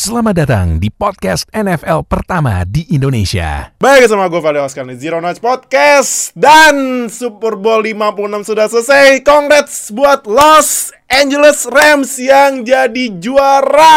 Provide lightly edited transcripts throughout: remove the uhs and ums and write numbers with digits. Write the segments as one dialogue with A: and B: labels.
A: Selamat datang di podcast NFL pertama di Indonesia.
B: Baik, sama gue Fadil Oscar di Zero Knowledge Podcast. Dan Super Bowl 56 sudah selesai. Congrats buat Los Angeles Rams yang jadi juara.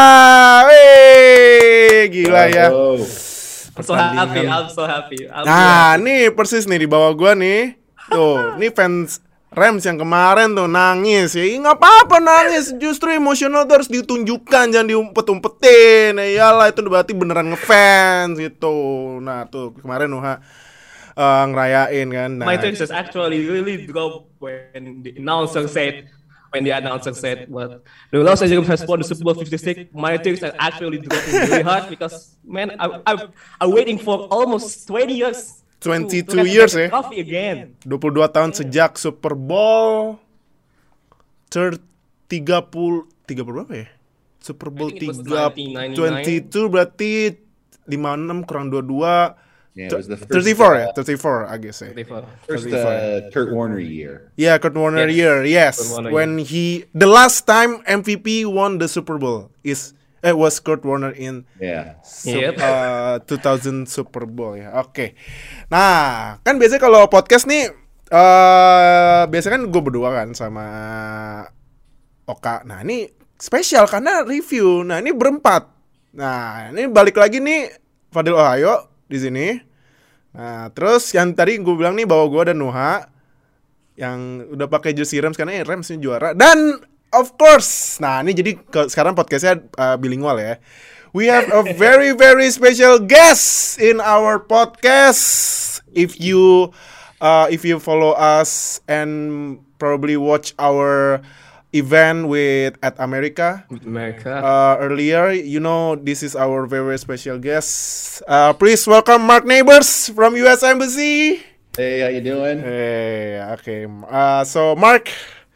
B: Gila ya.
C: I'm so happy.
B: Nah, nih persis nih di bawah gue nih. Tuh, nih fans Rams yang kemarin tuh nangis ya, nggak apa-apa nangis, justru emosional tuh harus ditunjukkan, jangan diumpet-umpetin. Iyalah, itu berarti beneran ngefans gitu. Nah tuh kemarin Nuha ngerayain kan. Nah,
C: My text is actually really dope when the announcer said what the Los Angeles has won the Super Bowl 56. My text are actually dropping really hard because man, I'm waiting for almost 20 years.
B: 22 years ya.
C: Coffee again.
B: 22 tahun sejak Super Bowl 30 berapa ya? Super Bowl 22 berarti 56 kurang 22
D: Yeah, it was the
B: 34 ya? 34 I guess ya.
D: First Kurt Warner year.
B: Yeah, Kurt Warner year. Yes. When the last time MVP won the Super Bowl was Kurt Warner in 2000 Super Bowl ya. Oke. Nah, kan biasanya kalau podcast nih biasanya kan gue berdua kan sama Oka. Nah, ini spesial karena review. Nah, ini berempat. Nah, ini balik lagi nih Fadil Ohio di sini. Nah, terus yang tadi gue bilang nih bahwa gue dan Nuha yang udah pakai jersey Rams karena Rams ini juara. Dan of course, nah ini jadi sekarang podcastnya bilingual ya. We have a very very special guest in our podcast. If you follow us and probably watch our event at America earlier, you know this is our very special guest. Please welcome Mark Neighbors from US Embassy.
D: Hey, how you doing?
B: Hey, okay. So Mark,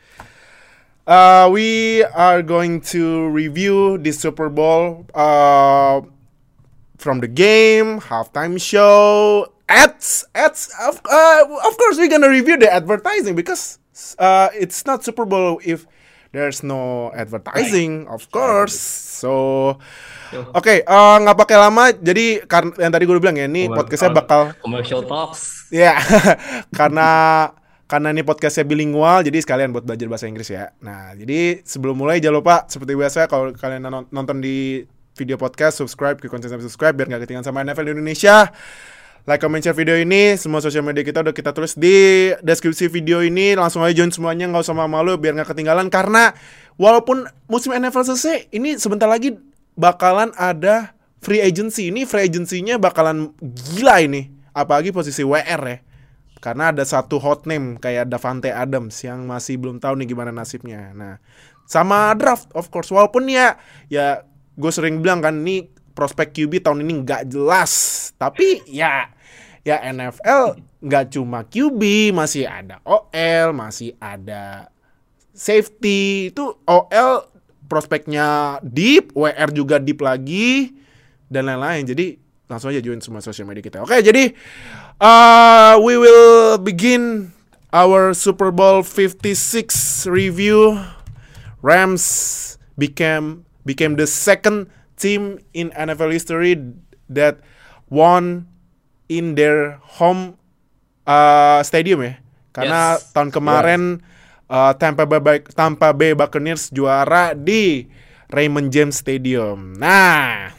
B: we are going to review the Super Bowl from the game, halftime show, ads. Of course, we're gonna review the advertising because it's not Super Bowl if there's no advertising, of course. So, oke, nggak pakai lama. Jadi yang tadi gue bilang ya, ini podcastnya bakal
C: commercial talks.
B: Ya, karena ini podcastnya bilingual, jadi sekalian buat belajar bahasa Inggris ya. Nah, jadi sebelum mulai jangan lupa seperti biasa kalau kalian nonton di video podcast, subscribe ke konten subscribe biar nggak ketinggalan sama NFL di Indonesia. Like, comment, share video ini. Semua sosial media kita udah kita tulis di deskripsi video ini. Langsung aja join semuanya, nggak usah malu biar nggak ketinggalan. Karena walaupun musim NFL selesai, ini sebentar lagi bakalan ada free agency. Ini free agency-nya bakalan gila ini. Apalagi posisi WR ya. Karena ada satu hot name kayak Davante Adams yang masih belum tahu nih gimana nasibnya. Nah, sama draft of course. Walaupun ya gue sering bilang kan ini prospek QB tahun ini nggak jelas. Tapi ya NFL nggak cuma QB, masih ada OL, masih ada safety. Itu OL prospeknya deep, WR juga deep lagi dan lain-lain. Jadi langsung aja join semua sosial media kita. Oke, jadi we will begin our Super Bowl 56 review. Rams became the second team in NFL history that won in their home stadium ya. Karena tahun kemarin Tampa Bay Buccaneers juara di Raymond James Stadium. Nah,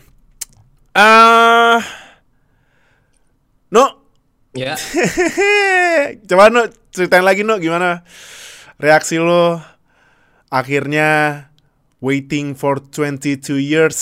C: Ya.
B: Coba ceritain lagi gimana reaksi lo akhirnya waiting for 22 years.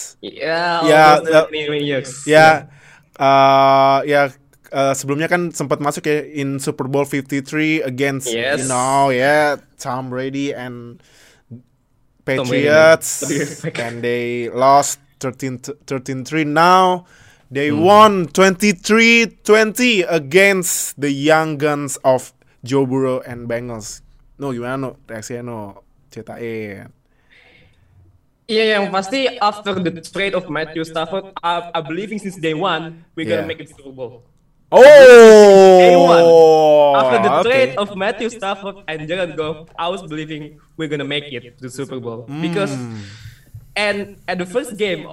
B: Sebelumnya kan sempat masuk ya in Super Bowl 53 against Tom Brady and Patriots and they lost 13-3. Now they won 23-20 against the young guns of Joe Burrow and Bengals. Gimana reaksinya ceritain.
C: Iya, yang pasti after the trade of Matthew Stafford, I believing since day one we're gonna make it to Super Bowl.
B: Day
C: one. After the trade of Matthew Stafford and Jared Goff, I was believing we're gonna make it to Super Bowl because And at the first game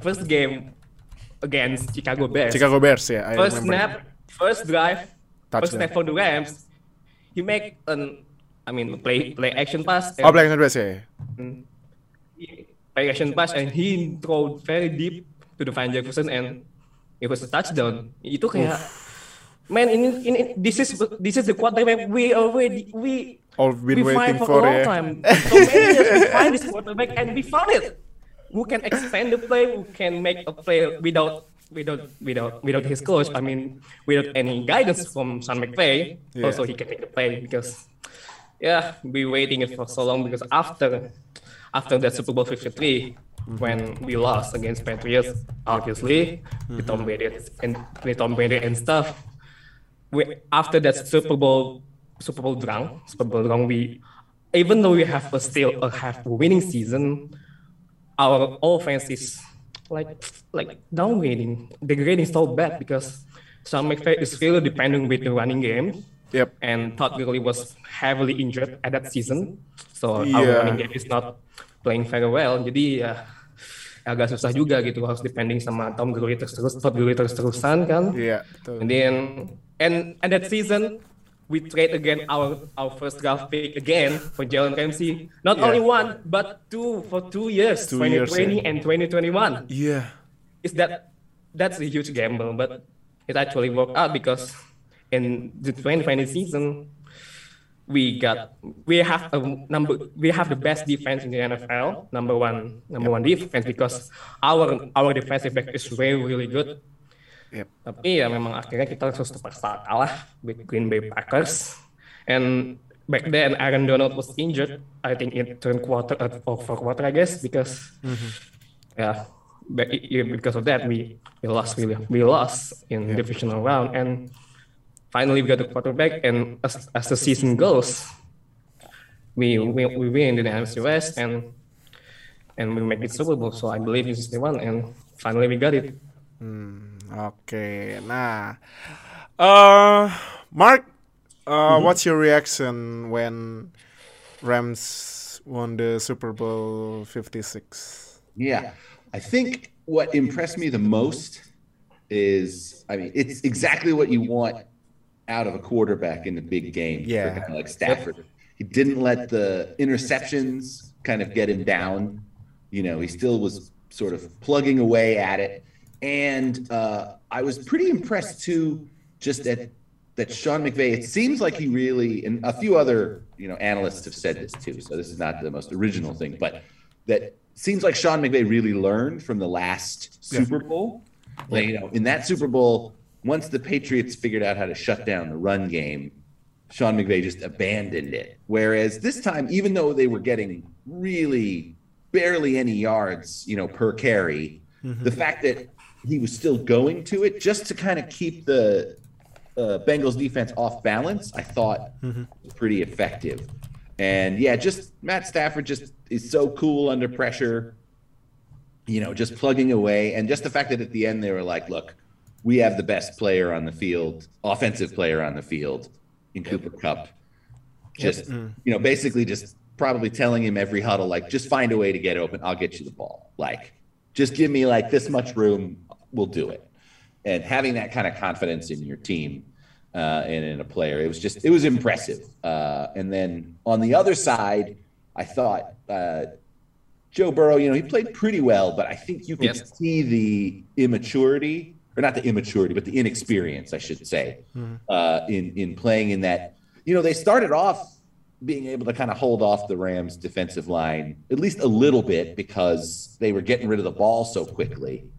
C: against Chicago Bears,
B: Yeah, I
C: first
B: remember.
C: snap, first drive, first
B: Touchdown.
C: snap for the Rams, he make play action pass.
B: Oh, play pass ya.
C: Play action pass and he throw very deep to the Van Jefferson and it was a touchdown. Itu kayak, man, ini this is the quarterback we
B: All been
C: find
B: waiting
C: for
B: for
C: a long
B: ya.
C: time. So many years we find this quarterback and we found it. Who can expand the play? Who can make a play without his coach? I mean, without any guidance from Sean McVay.
B: Yeah.
C: Also, he can make the play because, we waiting it for so long because after that Super Bowl 53, when we lost against Patriots, obviously with Tom Brady and stuff. After that Super Bowl drunk, we, even though we have a winning season, our offense is like downgrading, degrading so bad because Sean McVay is really depending with the running game.
B: Yep.
C: And Todd Gurley was heavily injured at that season, so our
B: Yeah.
C: running game is not playing very well. Jadi agak susah juga gitu, harus depending sama Todd Gurley terus-terusan kan.
B: Iya, betul.
C: And then and that season we trade again our first draft pick again for Jalen Ramsey. Not only one but two for 2 years, 2020 and 2021.
B: Iya.
C: That's a huge gamble, but it actually worked out because in the 2020 season we have the best defense in the NFL, number one defense because our defensive back is really good.
B: Yep.
C: Tapi ya memang akhirnya kita terpaksa kalah with Green Bay Packers. And back then Aaron Donald was injured. I think in third quarter or fourth quarter, I guess, because because of that we lost in divisional round. And finally we got the quarterback. And as the season goes, we win the NFC West and we make it Super Bowl. So I believe this is the one. And finally we got it.
B: Oke, nah, Mark, what's your reaction when Rams won the Super Bowl 56?
D: Yeah, I think what impressed me the most is, it's exactly what you want out of a quarterback in the big game.
B: Yeah.
D: For a guy like Stafford. He didn't let the interceptions kind of get him down. You know, he still was sort of plugging away at it. And I was pretty impressed too, just that Sean McVay, it seems like he really, and a few other, analysts have said this too, so this is not the most original thing, but that seems like Sean McVay really learned from the last Super Bowl. Like, in that Super Bowl, once the Patriots figured out how to shut down the run game, Sean McVay just abandoned it. Whereas this time, even though they were getting really barely any yards, per carry, the fact that he was still going to it just to kind of keep the Bengals defense off balance, I thought was pretty effective. And just Matt Stafford just is so cool under pressure, just plugging away. And just the fact that at the end they were like, look, we have the best player on the field, offensive player on the field in Cooper Kupp. Just, basically just probably telling him every huddle, like, just find a way to get open. I'll get you the ball. Like, just give me like this much room. We'll do it. And having that kind of confidence in your team and in a player, it was impressive. And then on the other side, I thought Joe Burrow, he played pretty well, but I think you could see the immaturity, or not the immaturity, but the inexperience, I should say, in playing in that. They started off being able to kind of hold off the Rams defensive line at least a little bit because they were getting rid of the ball so quickly.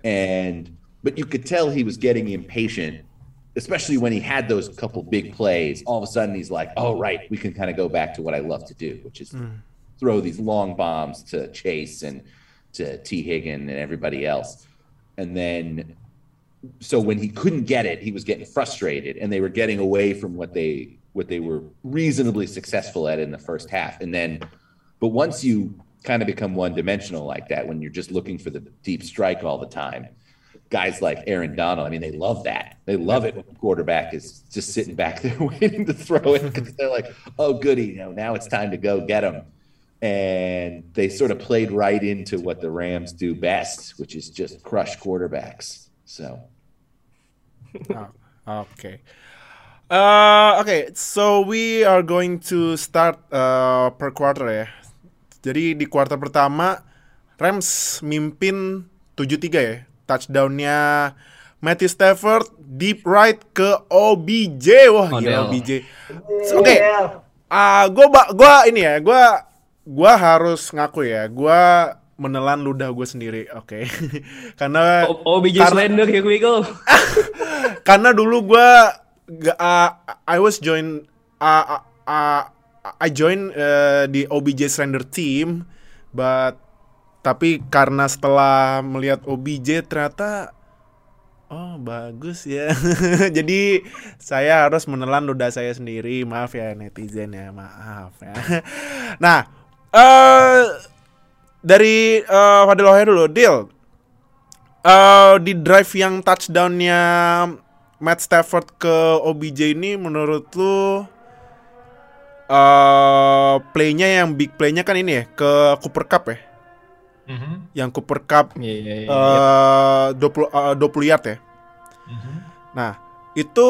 D: But you could tell he was getting impatient, especially when he had those couple big plays. All of a sudden he's like, oh, right, we can kind of go back to what I love to do, which is throw these long bombs to Chase and to T. Higgin and everybody else. And then, so when he couldn't get it, he was getting frustrated, and they were getting away from what they were reasonably successful at in the first half. But once you kind of become one-dimensional like that, when you're just looking for the deep strike all the time, guys like Aaron Donald, they love that. They love it when the quarterback is just sitting back there waiting to throw it because they're like, oh, goody, now it's time to go get him. and they sort of played right into what the Rams do best, which is just crush quarterbacks. So,
B: Okay. Okay, so we are going to start per quarter ya. Jadi di kuarter pertama Rams mimpin 7-3 ya. Touchdown-nya Matthew Stafford deep right ke OBJ. Wah, gila OBJ. Oke. Gua harus ngaku ya. Gua menelan ludah gue sendiri, oke. Karena
C: OBJ slander, here we go.
B: karena dulu gue I join di OBJ slander team, tapi karena setelah melihat OBJ ternyata bagus ya. Jadi saya harus menelan ludah saya sendiri. Maaf ya netizen ya, maaf ya. Nah, dari Fadil Ohaya dulu, Dil. Di drive yang touchdown-nya Matt Stafford ke OBJ ini menurut lu play-nya yang big play-nya kan ini ya, ke Cooper Cup ya? Yang Cooper Cup 20 yard ya. Nah, itu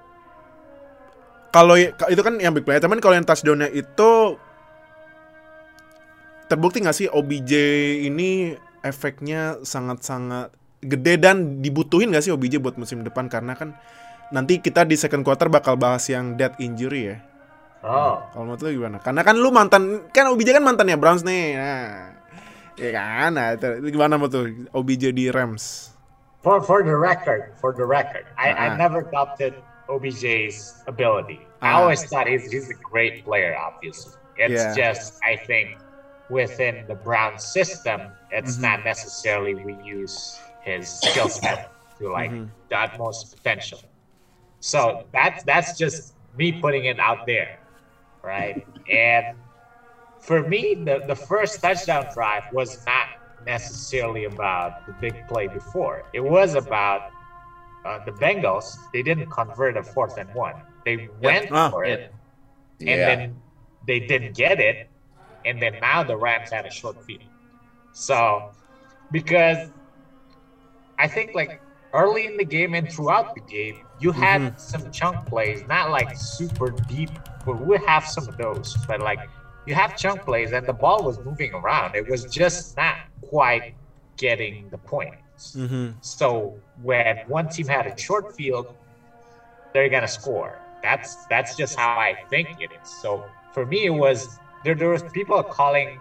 B: kalau itu kan yang big play, teman, kalau yang touchdown-nya itu terbukti nggak sih OBJ ini efeknya sangat-sangat gede dan dibutuhin nggak sih OBJ buat musim depan, karena kan nanti kita di second quarter bakal bahas yang death injury ya. Kalau menurut lu gimana? Karena kan lu OBJ kan mantannya Browns nih. Nah, ya kan? Nah, itu gimana tuh OBJ di Rams?
E: For the record, I never doubted OBJ's ability. I always thought he's a great player. Obviously, it's just I think within the Browns system, it's not necessarily we use his skill set to like the utmost potential. So that's just me putting it out there, right? And for me, the first touchdown drive was not necessarily about the big play before. It was about the Bengals. They didn't convert a 4th and 1. They went for it, and then they didn't get it, and then now the Rams had a short field. So, because I think like early in the game and throughout the game, you had some chunk plays, not like super deep, but we have some of those. But like you have chunk plays, and the ball was moving around. It was just not quite getting the points. So when one team had a short field, they're gonna score. That's just how I think it is. So for me, it was there was people calling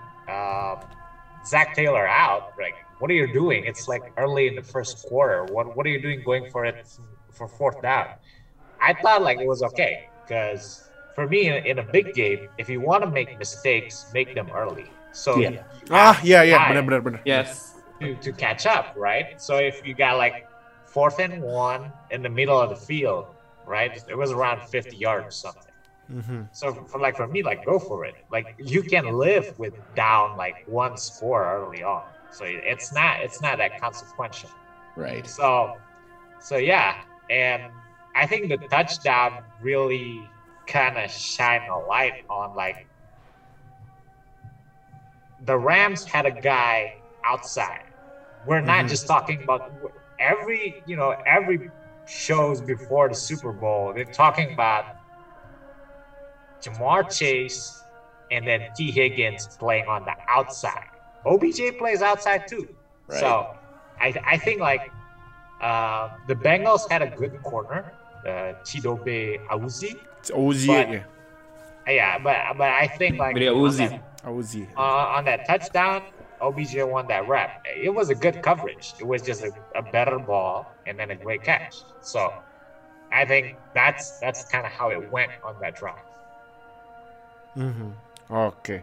E: Zach Taylor out. Like, what are you doing? It's like early in the first quarter. What are you doing going for it for 4th down? I thought like it was okay, because for me in a big game, if you want to make mistakes, make them early. So
B: benar.
C: Yes.
E: To catch up, right? So if you got like 4th and 1 in the middle of the field, right? It was around 50 yards or something. So for me, like, go for it. Like, you can live with down like 1 score early on. So it's not that consequential.
D: right.
E: So yeah, and I think the touchdown really kind of shine a light on like the Rams had a guy outside. We're not just talking about every shows before the Super Bowl. They're talking about Jamar Chase and then T. Higgins playing on the outside. OBJ plays outside too.
D: Right.
E: So I think like the Bengals had a good corner, Chidobe Awuzie.
B: It's Uzi
E: But-
B: ya.
E: Yeah, but I think like
C: Video Uzi.
B: Uzi.
E: on that touchdown, OBJ won that rep. It was a good coverage. It was just a better ball and then a great catch. So I think that's kind of how it went on that drive.
B: Oke.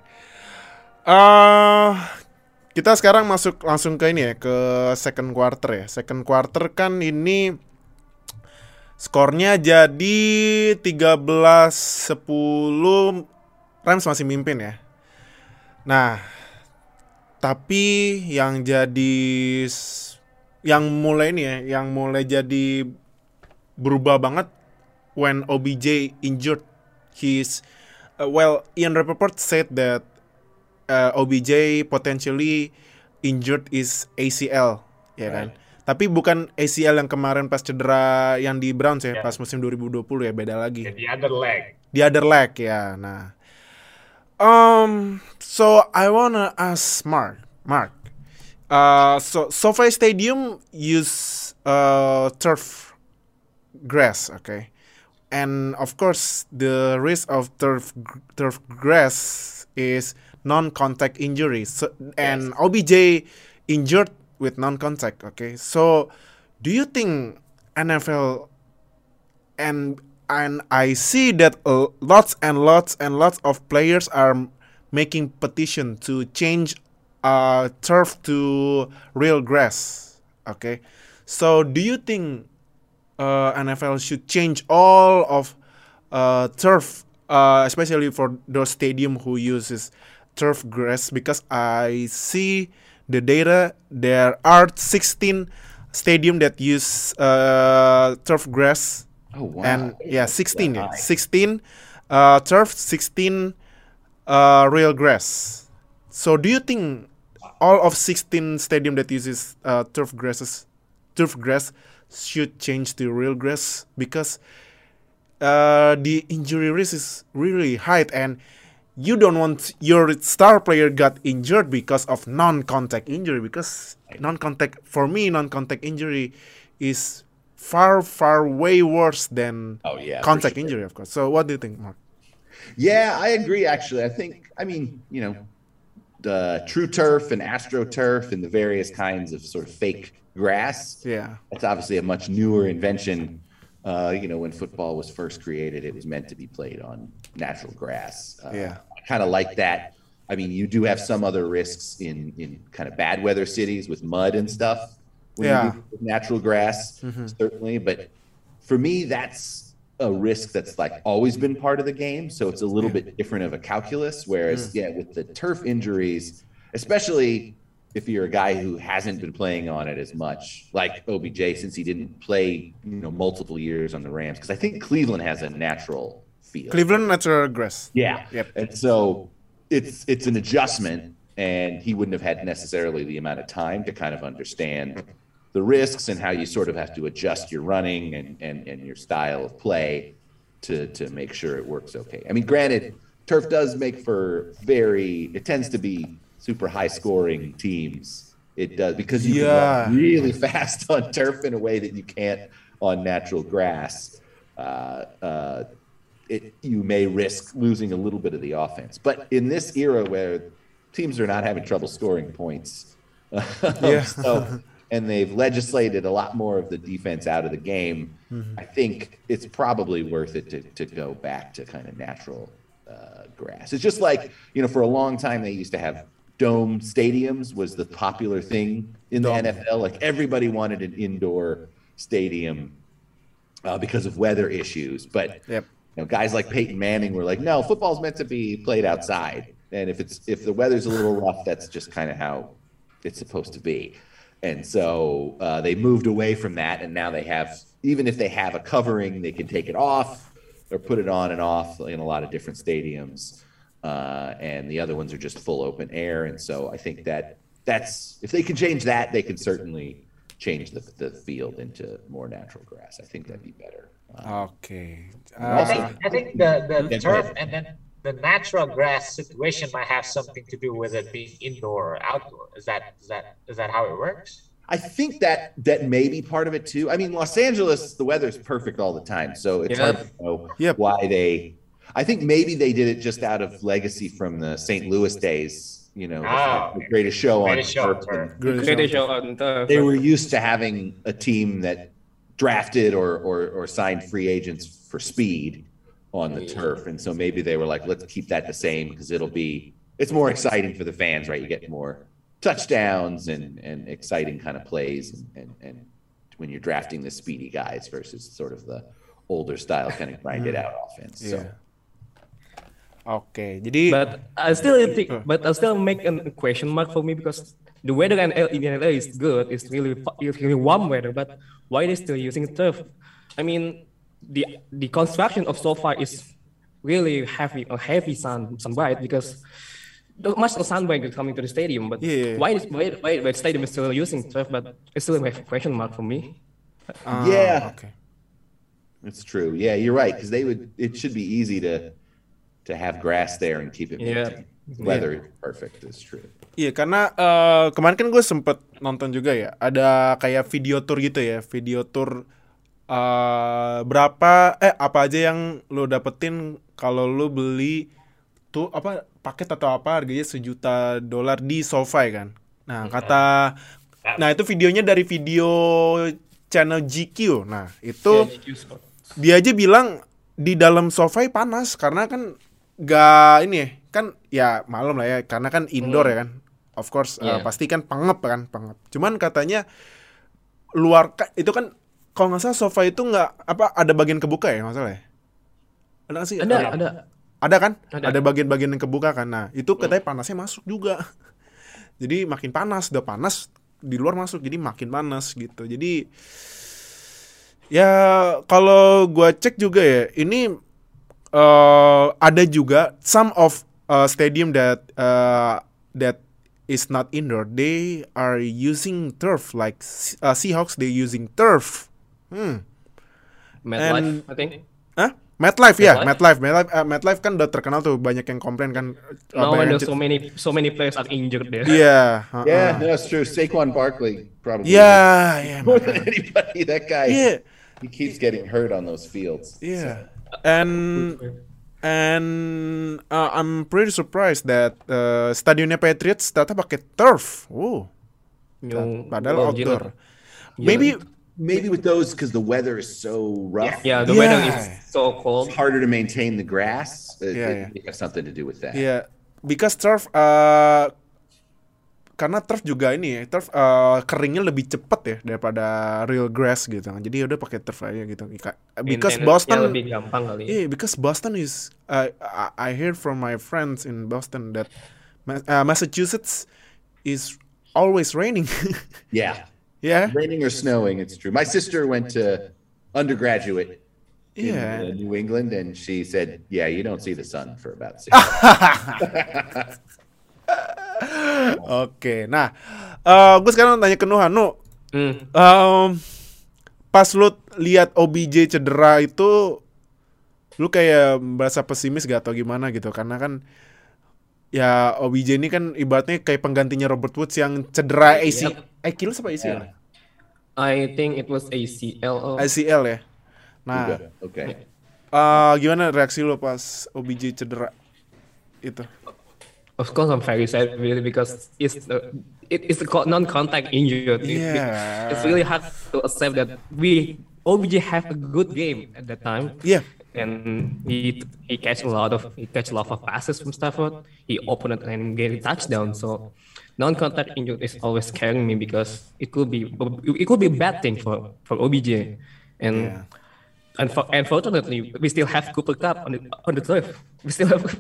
B: Kita sekarang masuk langsung ke ini ya, ke second quarter ya. Second quarter kan ini skornya jadi 13-10, Rams masih mimpin ya. Nah, tapi yang mulai jadi berubah banget when OBJ injured. Ian Rappaport said that OBJ potentially injured is ACL, ya kan? Tapi bukan ACL yang kemarin pas cedera yang di Browns ya, pas musim 2020 ya, beda lagi.
E: The other leg.
B: The other leg ya. Nah, so I wanna ask Mark. So SoFi Stadium use turf grass, okay, and of course the risk of turf grass is non-contact injury. So, and OBJ injured with non-contact, okay. So, do you think NFL and I see that lots of players are making petition to change turf to real grass, okay? So, do you think NFL should change all of turf, especially for those stadium who uses turf grass? Because I see the data, there are 16 stadium that use turf grass.
D: Oh wow!
B: And 16, 16 turf, 16 real grass. So, do you think all of 16 stadium that uses turf grass should change to real grass? Because the injury risk is really high, and you don't want your star player got injured because of non-contact injury. Because non-contact injury is far way worse than contact injury, of course. So what do you think, Mark?
D: Yeah, I agree. Actually, I mean, the True Turf and AstroTurf and the various kinds of sort of fake grass.
B: Yeah,
D: that's obviously a much newer invention. When football was first created, it was meant to be played on natural grass. I kind of like that. I mean, you do have some other risks in kind of bad weather cities with mud and stuff when you do natural grass, certainly. But for me, that's a risk that's like always been part of the game. So it's a little bit different of a calculus. Whereas, with the turf injuries, especially if you're a guy who hasn't been playing on it as much, like OBJ, since he didn't play, multiple years on the Rams, because I think Cleveland has a natural field.
B: Cleveland natural grass.
D: Yeah. Yep. And so it's an adjustment, and he wouldn't have had necessarily the amount of time to kind of understand the risks and how you sort of have to adjust your running and your style of play to make sure it works okay. I mean, granted, turf does make for it tends to be super high scoring teams. It does, because you can run really fast on turf in a way that you can't on natural grass. You may risk losing a little bit of the offense. But in this era where teams are not having trouble scoring points, and they've legislated a lot more of the defense out of the game, I think it's probably worth it to go back to kind of natural grass. It's just like, for a long time they used to have dome stadiums was the popular thing in the NFL. Like everybody wanted an indoor stadium because of weather issues. But guys like Peyton Manning were like, no, football's meant to be played outside. And if the weather's a little rough, that's just kind of how it's supposed to be. And so they moved away from that, and now they have, even if they have a covering, they can take it off or put it on and off in a lot of different stadiums. And the other ones are just full open air. And so I think that's if they can change that, they can certainly change the field into more natural grass. I think that'd be better.
B: Okay.
E: I think the turf and then the natural grass situation might have something to do with it being indoor or outdoor. Is that how it works?
D: I think that may be part of it too. I mean, Los Angeles, the weather's perfect all the time, so it's hard to know why they. I think maybe they did it just out of legacy from the St. Louis days. The greatest show on turf. They were used to having a team that drafted or signed free agents for speed on the turf, and so maybe they were like, let's keep that the same because it's more exciting for the fans, right? You get more touchdowns and exciting kind of plays and when you're drafting the speedy guys versus sort of the older style kind of grind it out offense. So.
B: Okay, jadi
C: but I still make a question mark for me because the weather in LA is good. It's really warm weather, but why are they still using turf? I mean, the construction of SoFi is really heavy sunlight because much no soundbite coming to the stadium, but why the stadium is still using turf, but it's still a question mark for me.
D: Okay. It's true. Yeah, you're right, because it should be easy to have grass there and keep it maintained. Weather perfect is true.
B: Iya, karena kemarin kan gue sempet nonton juga ya, ada kayak video tour gitu ya, video tour apa aja yang lo dapetin kalau lo beli tuh paket atau apa harganya $1 juta di SoFi kan. Nah itu videonya dari video channel GQ. Nah itu dia aja bilang di dalam SoFi panas karena kan gak ini ya, kan ya malam lah ya, karena kan indoor ya kan, of course pasti kan pengep. Cuman katanya luar itu kan kalau nggak salah sofa itu nggak ada bagian kebuka ya, nggak salah ya? Ada nggak sih? Ada kan? Ada bagian-bagian yang kebuka kan. Nah itu katanya panasnya masuk juga. Jadi makin panas, udah panas di luar masuk, jadi makin panas gitu. Jadi ya kalau gua cek juga ya, ini ada juga some of stadium that is not indoor, they are using turf, like Seahawks, they using turf.
C: MetLife, I think.
B: MetLife ya, MetLife kan udah terkenal tuh, banyak yang komplain kan.
C: No, when there's so many players are injured there.
B: Yeah,
D: yeah, that's true. Saquon Barkley probably.
B: Yeah,
D: more than anybody. That guy.
B: Yeah.
D: He keeps getting hurt on those fields.
B: Yeah. And I'm pretty surprised that stadionnya Patriots ternyata pakai turf. Padahal outdoor.
D: Maybe with those because the weather is so rough.
C: Yeah, the weather is so cold.
D: It's harder to maintain the grass. It has something to do with that.
B: Yeah, because turf karena turf juga ini ya, turf keringnya lebih cepat ya daripada real grass gitu. Jadi udah pakai turf aja gitu. Because Boston
C: lebih gampang kali.
B: Yeah, because Boston is I heard from my friends in Boston that Massachusetts is always raining.
D: Yeah.
B: Yeah.
D: Raining or snowing, it's true. My sister went to undergraduate in New England, and she said, "Yeah, you don't see the sun for about 6 months."
B: Oke, nah, gue sekarang tanya ke Nuhanu, pas lu lihat OBJ cedera itu, lu kayak merasa pesimis gak atau gimana gitu? Karena kan, ya OBJ ini kan ibaratnya kayak penggantinya Robert Woods yang cedera ACL apa ACL?
C: I think it was ACL.
B: ACL ya. Nah,
D: okay.
B: Gimana reaksi lu pas OBJ cedera itu?
C: Of course, I'm very sad really because it's a non-contact injury.
B: Yeah.
C: It's really hard to accept that OBJ have a good game at that time.
B: Yeah.
C: And he catch a lot of passes from Stafford. He opened it and gave a touchdown. So non-contact injury is always scaring me because it could be a bad thing for OBJ. And unfortunately, we still have Cooper Kupp on the turf. We still have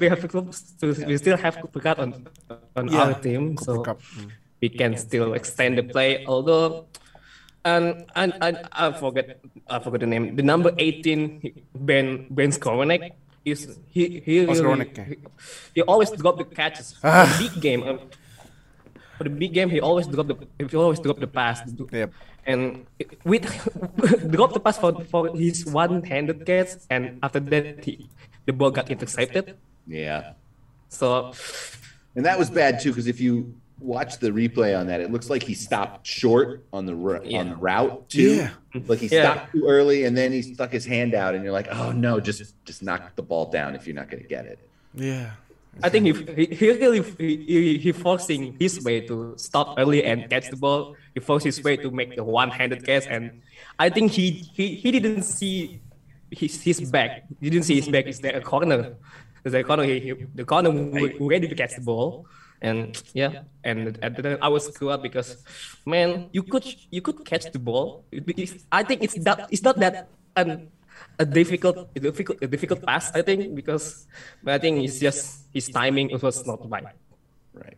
C: Cooper Kupp on our team, so we can still extend the play. Although, and I forget the name. The number 18 Ben Skowronek is he always drop the catches for the big game. For the big game, he always drop the pass.
B: Yep.
C: And with drop the pass for his one-handed catch, and after that the ball got intercepted.
D: Yeah.
C: So,
D: and that was bad too, because if you watch the replay on that, it looks like he stopped short on the route too.
B: Yeah.
D: Like he stopped too early, and then he stuck his hand out, and you're like, oh no, just knock the ball down if you're not going to get it.
B: Yeah.
C: I think he forcing his way to stop early and catch the ball. He forced his way to make the one-handed catch, and I think he didn't see his back. He didn't see his back. Is there a corner? The corner ready to catch the ball, and I was screwed up because, man, you could catch the ball. I think it's not that a difficult pass, I think, because I think it's just his timing was not right.
D: Right.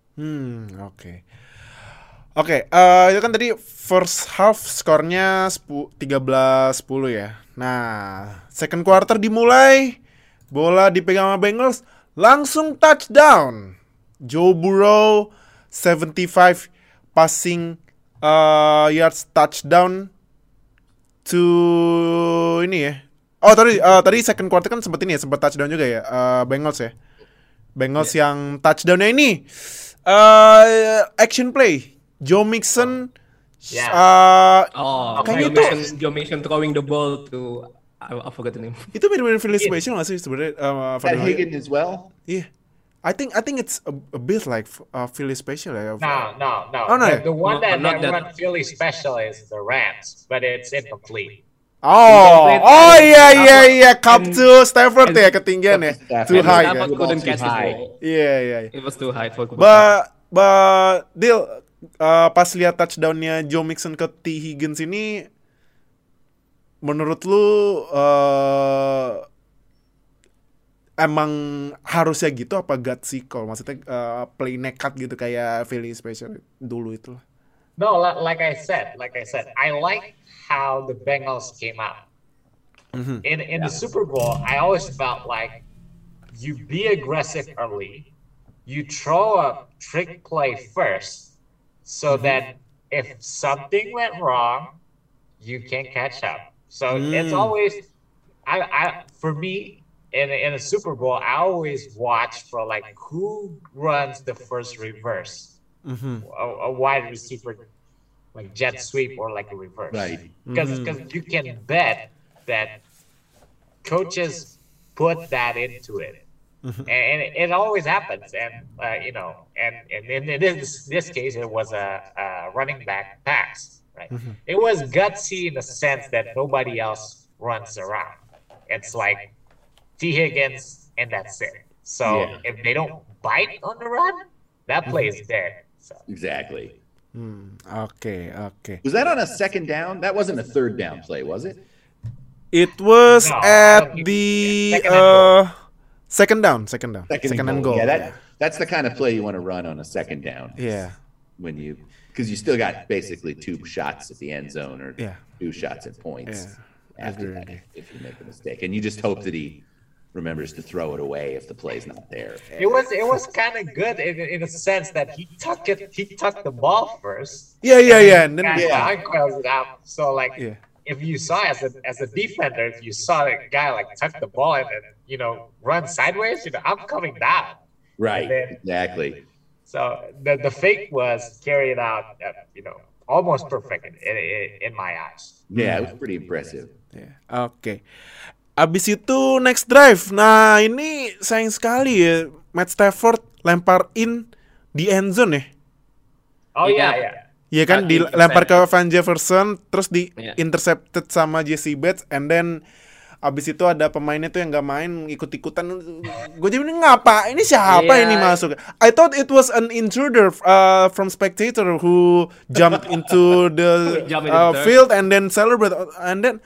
B: Oke, itu kan tadi first half skornya 13-10 ya. Nah, second quarter dimulai, bola dipegang sama Bengals, langsung touchdown. Joe Burrow 75 passing yards touchdown to ini ya. Oh tadi second quarter kan sempat touchdown juga ya, Bengals ya. Bengals yang touchdownnya ini action play Joe Mixon.
C: Kayaknya Joe Mixon throwing the ball to I forgot the name.
B: Itu mirip-mirip Philly special nggak sih sebenarnya?
D: Higgins as well.
B: Yeah. I think it's a bit like Philly special.
E: No.
B: Oh, no.
E: The one that run Philly special is the Rams, but it's incomplete.
B: Iya. Cup to Stafford ya, ketinggian ya. Too high.
C: Stafford couldn't catch the ball.
B: Iya.
C: It was too high for Cooper.
B: But Dil, pas lihat touchdownnya Joe Mixon ke T Higgins ini, menurut lu emang harusnya gitu apa gutsy call? Maksudnya play nekat gitu kayak Philly special dulu itu?
E: No, like I said, I like how the Bengals came out. Mm-hmm. In the Super Bowl, I always felt like you be aggressive early, you throw a trick play first, so that if something went wrong, you can catch up. So it's always, for me, in a Super Bowl, I always watch for like who runs the first reverse, a wide receiver, like jet sweep or like a reverse,
D: right?
E: Because you can bet that coaches put that into it, and it always happens. And and in this case, it was a running back pass. Right. It was gutsy in the sense that nobody else runs around. It's like T. Higgins and that's it. So if they don't bite on the run, that play is dead. So.
D: Exactly.
B: Okay.
D: Was that on a second down? That wasn't a third down play, was it?
B: It was at the second down. Second and goal.
D: Yeah, that's the kind of play you want to run on a second down.
B: Yeah.
D: Because you still got basically 2 shots at the end zone or 2 shots at points after that if you make a mistake. And you just hope that he remembers to throw it away if the play's not there.
E: It was kind of good in a sense that he tucked the ball first.
B: Yeah. And then
E: uncoils it out. So if you saw as a defender, if you saw a guy like tuck the ball and run sideways, I'm coming down.
D: Right. Exactly.
E: So the fake was carried out, almost perfect in my eyes.
D: Yeah, it was pretty impressive.
B: Yeah. Oke. Abis itu next drive. Nah ini sayang sekali ya, Matt Stafford lempar in di end zone ya.
E: Oh iya.
B: Iya kan, dilempar ke Van Jefferson, terus di intercepted sama Jesse Bates, and then abis itu ada pemainnya tuh yang nggak main, ikut-ikutan. Gue jadi ngapa? Ini siapa ini masuk? I thought it was an intruder from spectator who jumped into the field and then celebrate, and then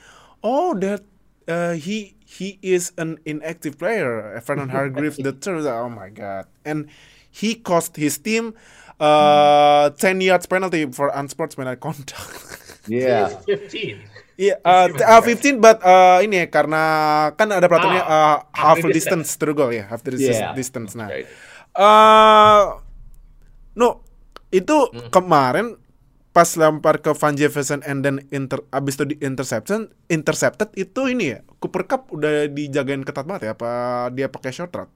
B: he is an inactive player, Vernon Hargreaves the third. Oh my god! And he cost his team 10 yards penalty for unsportsmanlike conduct.
D: Yeah.
E: 15.
B: Iya, 15, but ini ya, karena kan ada peraturannya half distance to the goal ya, half distance. Nah, itu kemarin pas lempar ke Van Jefferson and then abis itu intercepted itu ini ya, Cooper Kupp udah dijagain ketat banget ya, apa dia pakai short route?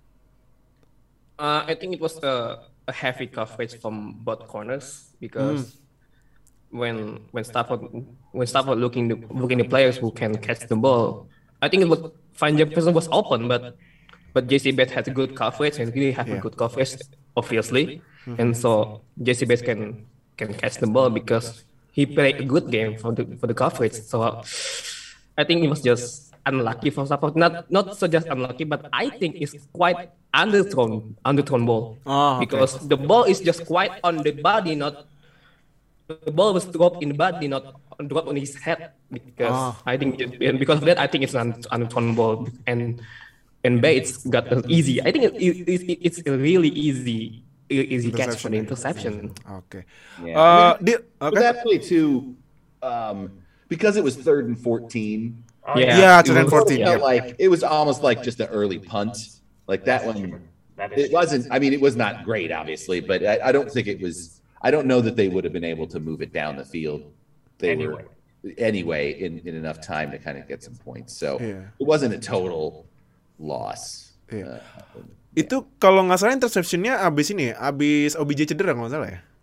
C: I think it was a heavy coverage from both corners because when Stafford looking the players who can catch the ball, I think it was Van Jefferson was open, but Jesse Bates had a good coverage and really have a good coverage, obviously, and so Jesse Bates can catch the ball because he played a good game for the coverage. So I think it was just unlucky for Stafford, not so just unlucky, but I think it's quite underthrown ball because the ball is just quite on the body, not. The ball was dropped in the body, not dropped on his head. Because I think, because of that, I think it's an underthrown ball, and Bates got an easy. I think it's a really easy catch for the interception.
B: Okay.
D: Yeah. But that play too, because it was 3rd and 14.
B: Yeah, 3rd and 14.
D: Like it was almost like just an early punt. Like that one It wasn't. I mean, it was not great, obviously, but I don't think it was. I don't know that they would have been able to move it down the field. They were anyway in enough time to kind of get some points. So it wasn't a total loss.
B: Itu kalau nggak salah interceptionnya abis OBJ cedera nggak salah ya?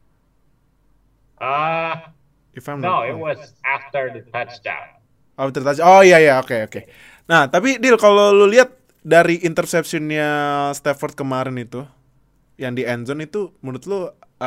E: No, it was after the touchdown.
B: After touchdown. Oh iya, oke. Nah, tapi Dil, kalau lu lihat dari interceptionnya Stafford kemarin itu, yang di end zone itu, menurut lu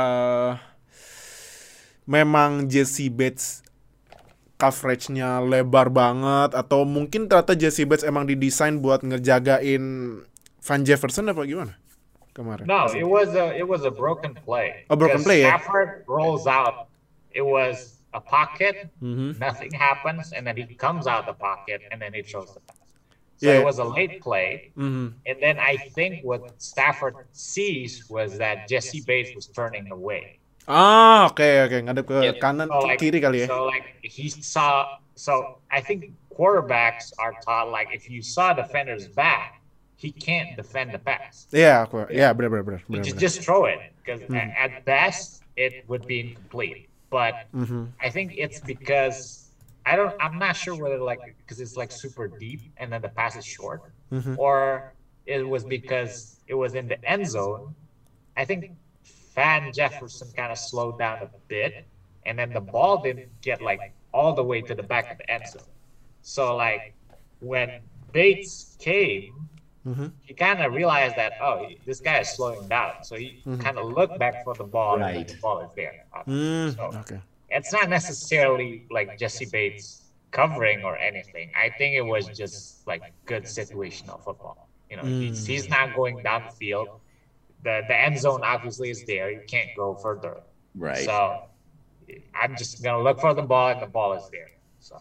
B: memang Jesse Bates coverage-nya lebar banget, atau mungkin ternyata Jesse Bates emang didesain buat ngejagain Van Jefferson apa gimana kemarin?
E: No, it was a broken play.
B: A broken play,
E: Stafford rolls out. It was a pocket. Nothing happens, and then he comes out the pocket, and then he throws the pass. So it was a late play, and then I think what Stafford sees was that Jesse Bates was turning away.
B: Oke, ngadep ke kanan, kiri kali ya.
E: So like he saw. So I think quarterbacks are taught like if you saw defender's back, he can't defend the pass.
B: Benar.
E: Just throw it because at best it would be incomplete. But I think it's because I'm not sure whether like because it's like super deep and then the pass is short, or it was because it was in the end zone. I think Van Jefferson kind of slowed down a bit, and then the ball didn't get like all the way to the back of the end zone. So like when Bates came, he kind of realized that this guy is slowing down. So he kind of looked back for the ball, and the ball is there. It's not necessarily like Jesse Bates covering or anything. I think it was just like good situational football. You know, he's not going down the field. The end zone obviously is there. You can't go further.
D: Right.
E: So I'm just gonna look for the ball, and the ball is there. So.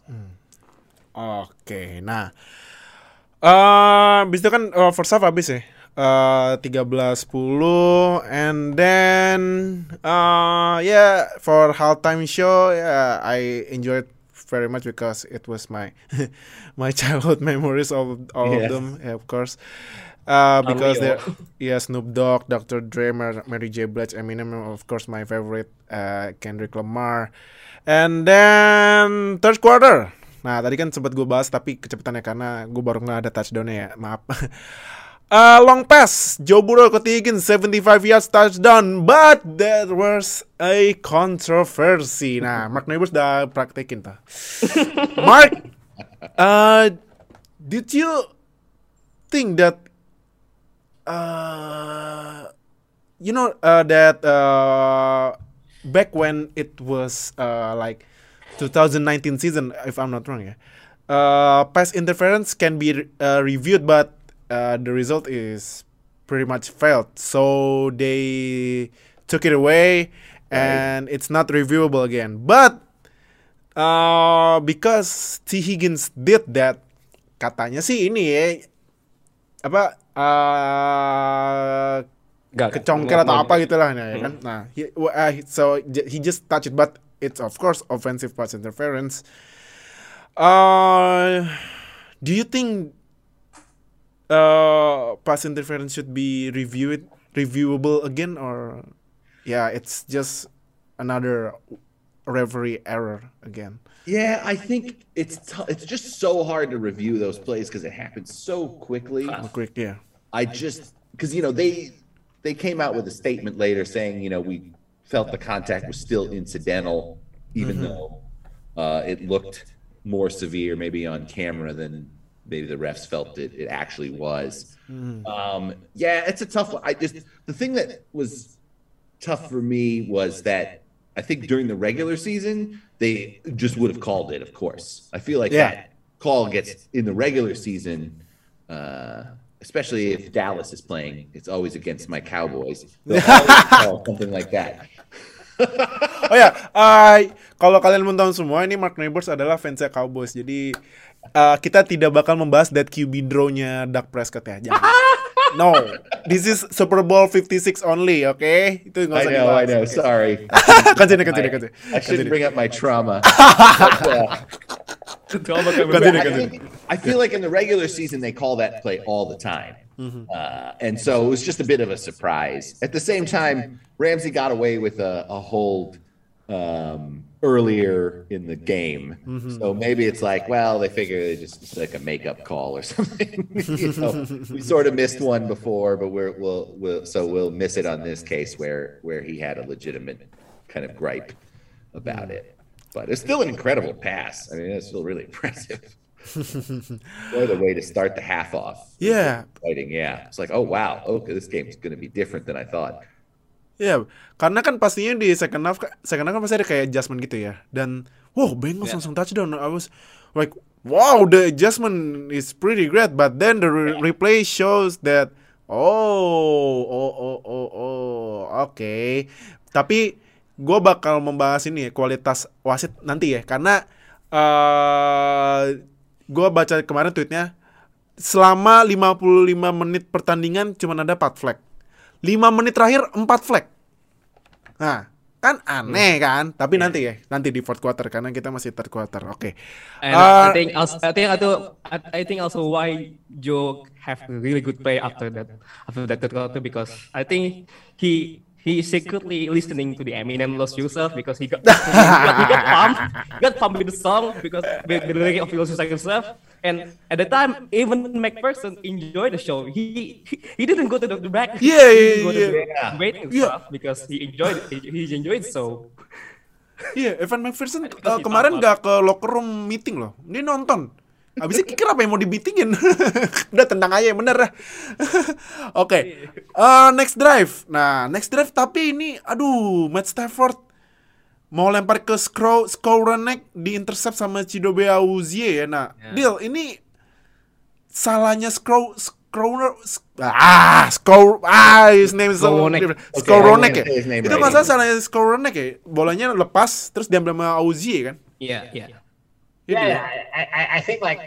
B: Oke, nah, bis itu kan first half habis ya, 13-10, and then for halftime show, I enjoyed very much because it was my my childhood memories of all of them, of course. Because Snoop Dogg, Dr. Dre, Mary J. Blige, Eminem, of course my favorite, Kendrick Lamar. And then third quarter. Nah, tadi kan sempat gue bahas tapi kecepatannya karena gue baru nggak ada touchdownnya ya, maaf. Long pass, Joe Burrow ke Higgins, 75 yards touchdown, but there was a controversy. Nah, Mark Neighbors udah praktekin tuh. Mark, did you think that that back when it was like 2019 season, if I'm not wrong, pass interference can be reviewed, but the result is pretty much failed. So they took it away, and it's not reviewable again. But because T. Higgins did that, katanya sih ini kecongkel atau apa gitulah, ya kan? Nah, so he just touched it, but it's of course offensive pass interference. Do you think pass interference should be reviewable again, or it's just another referee error again?
D: Yeah, I think it's just so hard to review those plays because it happens so quickly. Because they came out with a statement later saying we felt the contact was still incidental, even though it looked more severe maybe on camera than maybe the refs felt it actually was. It's a tough one. The thing that was tough for me was that I think during the regular season they just would have called it, of course. I feel like that call gets in the regular season, especially if Dallas is playing, it's always against my Cowboys. They'll always call something like that.
B: Kalau kalian mau tahu semua, ini Mark Neighbors adalah fansnya Cowboys. Jadi kita tidak bakal membahas that QB draw-nya Dak Prescott ya. Jangan. No, this is Super Bowl 56 only, okay? Itu nggak usah dibahas.
D: I know.
B: Okay.
D: Sorry.
B: Continue.
D: I shouldn't bring up my trauma.
C: Continue.
D: I feel like in the regular season they call that play all the time. And so it was just a bit of a surprise. At the same time, Ramsey got away with a hold earlier in the game. So maybe it's like, well, they figure it's like a makeup call or something. We sort of missed one before, but we'll miss it on this case where he had a legitimate kind of gripe about it. But it's still an incredible pass. I mean, it's still really impressive. What a way to start the half off.
B: Yeah.
D: Fighting, yeah. It's like, oh wow, okay, this game's going to be different than I thought.
B: Ya, karena kan pastinya di second half kan pasti ada kayak adjustment gitu ya. Dan wow, Bengals langsung touchdown. I was like, wow, the adjustment is pretty great. But then the replay shows that oke. Tapi gue bakal membahas ini ya, kualitas wasit nanti ya. Karena gue baca kemarin tweetnya, selama 55 menit pertandingan cuma ada 4 flag. 5 menit terakhir 4 flag. Nah, kan aneh kan? Tapi nanti di fourth quarter karena kita masih third quarter. Oke.
C: And I think also why Joe have a really good play after that third quarter, because I think he secretly listening to the Eminem Lost Yourself because he got pumped with the song because the lyric of Lost Yourself. And at the time, even McPherson enjoyed the show. He didn't go to the back. He go to the waiting stuff because he enjoyed so.
B: Iya, Evan McPherson kemarin gak ke locker room meeting loh. Dia nonton. Abisnya kicker apa yang mau dibitingin? Udah tendang aja yang bener dah. Oke. Next drive. Nah, next drive tapi ini Matt Stafford mau lempar ke Skowronek di intercept sama Chidobe Awuzie ya. Nah, Deal, ini salahnya his name is Skowronek ya. Itu masalah salahnya Skowronek ya. Bolanya lepas terus diambil sama Awuzie kan?
C: Iya.
E: Yeah, I think like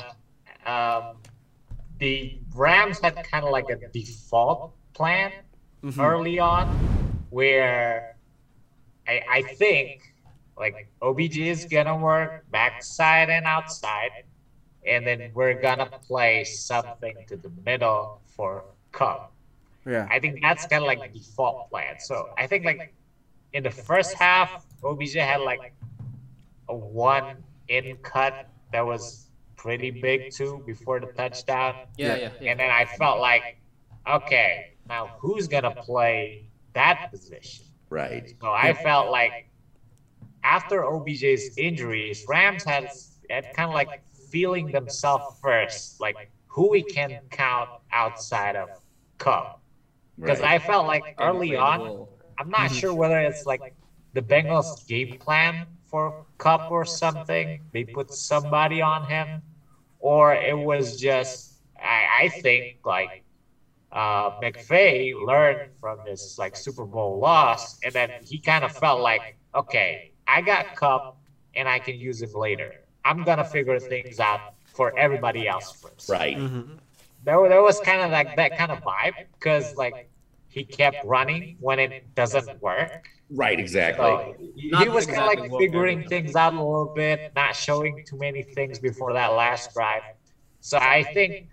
E: the Rams had kind of like a default plan early on, where I think like OBJ is gonna work backside and outside, and then we're gonna play something to the middle for Cup.
B: Yeah,
E: I think that's kind of like the default plan. So I think like in the first half, OBJ had like a one in cut that was pretty big too before the touchdown.
C: Yeah.
E: And then I felt like, okay, now who's gonna play that position?
D: Right.
E: So I felt like after OBJ's injuries, Rams had kind of like feeling themselves first, like who we can count outside of Cup. Because I felt like early on, I'm not sure whether it's like the Bengals game plan for Cup or something. They put somebody on him, or it was just I think like McVay learned from this like Super Bowl loss, and then he kind of felt like, okay, I got Cup and I can use him later. I'm gonna figure things out for everybody else first.
D: Right.
E: There was kind of like that kind of vibe, because like he kept running when it doesn't work.
D: Right, exactly.
E: So he was kind of like figuring things out a little bit, not showing too many things before that last drive. So I think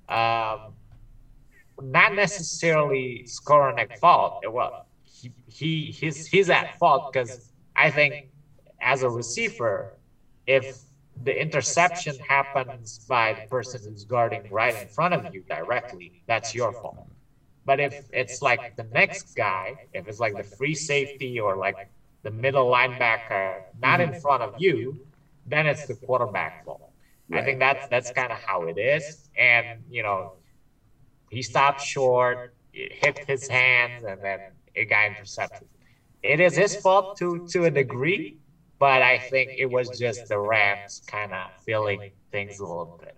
E: not necessarily Skowronek's fault. Well, he's at fault, because I think as a receiver, if the interception happens by the person who's guarding right in front of you directly, that's your fault. But if it's like the next guy, if it's like the free safety or like the middle linebacker not in front of you, then it's the quarterback fault. Right. I think that's kind of how it is. And, you know, he stopped short, it hit his hands, and then it got intercepted. It is his fault to a degree, but I think it was just the Rams kind of feeling things a little bit.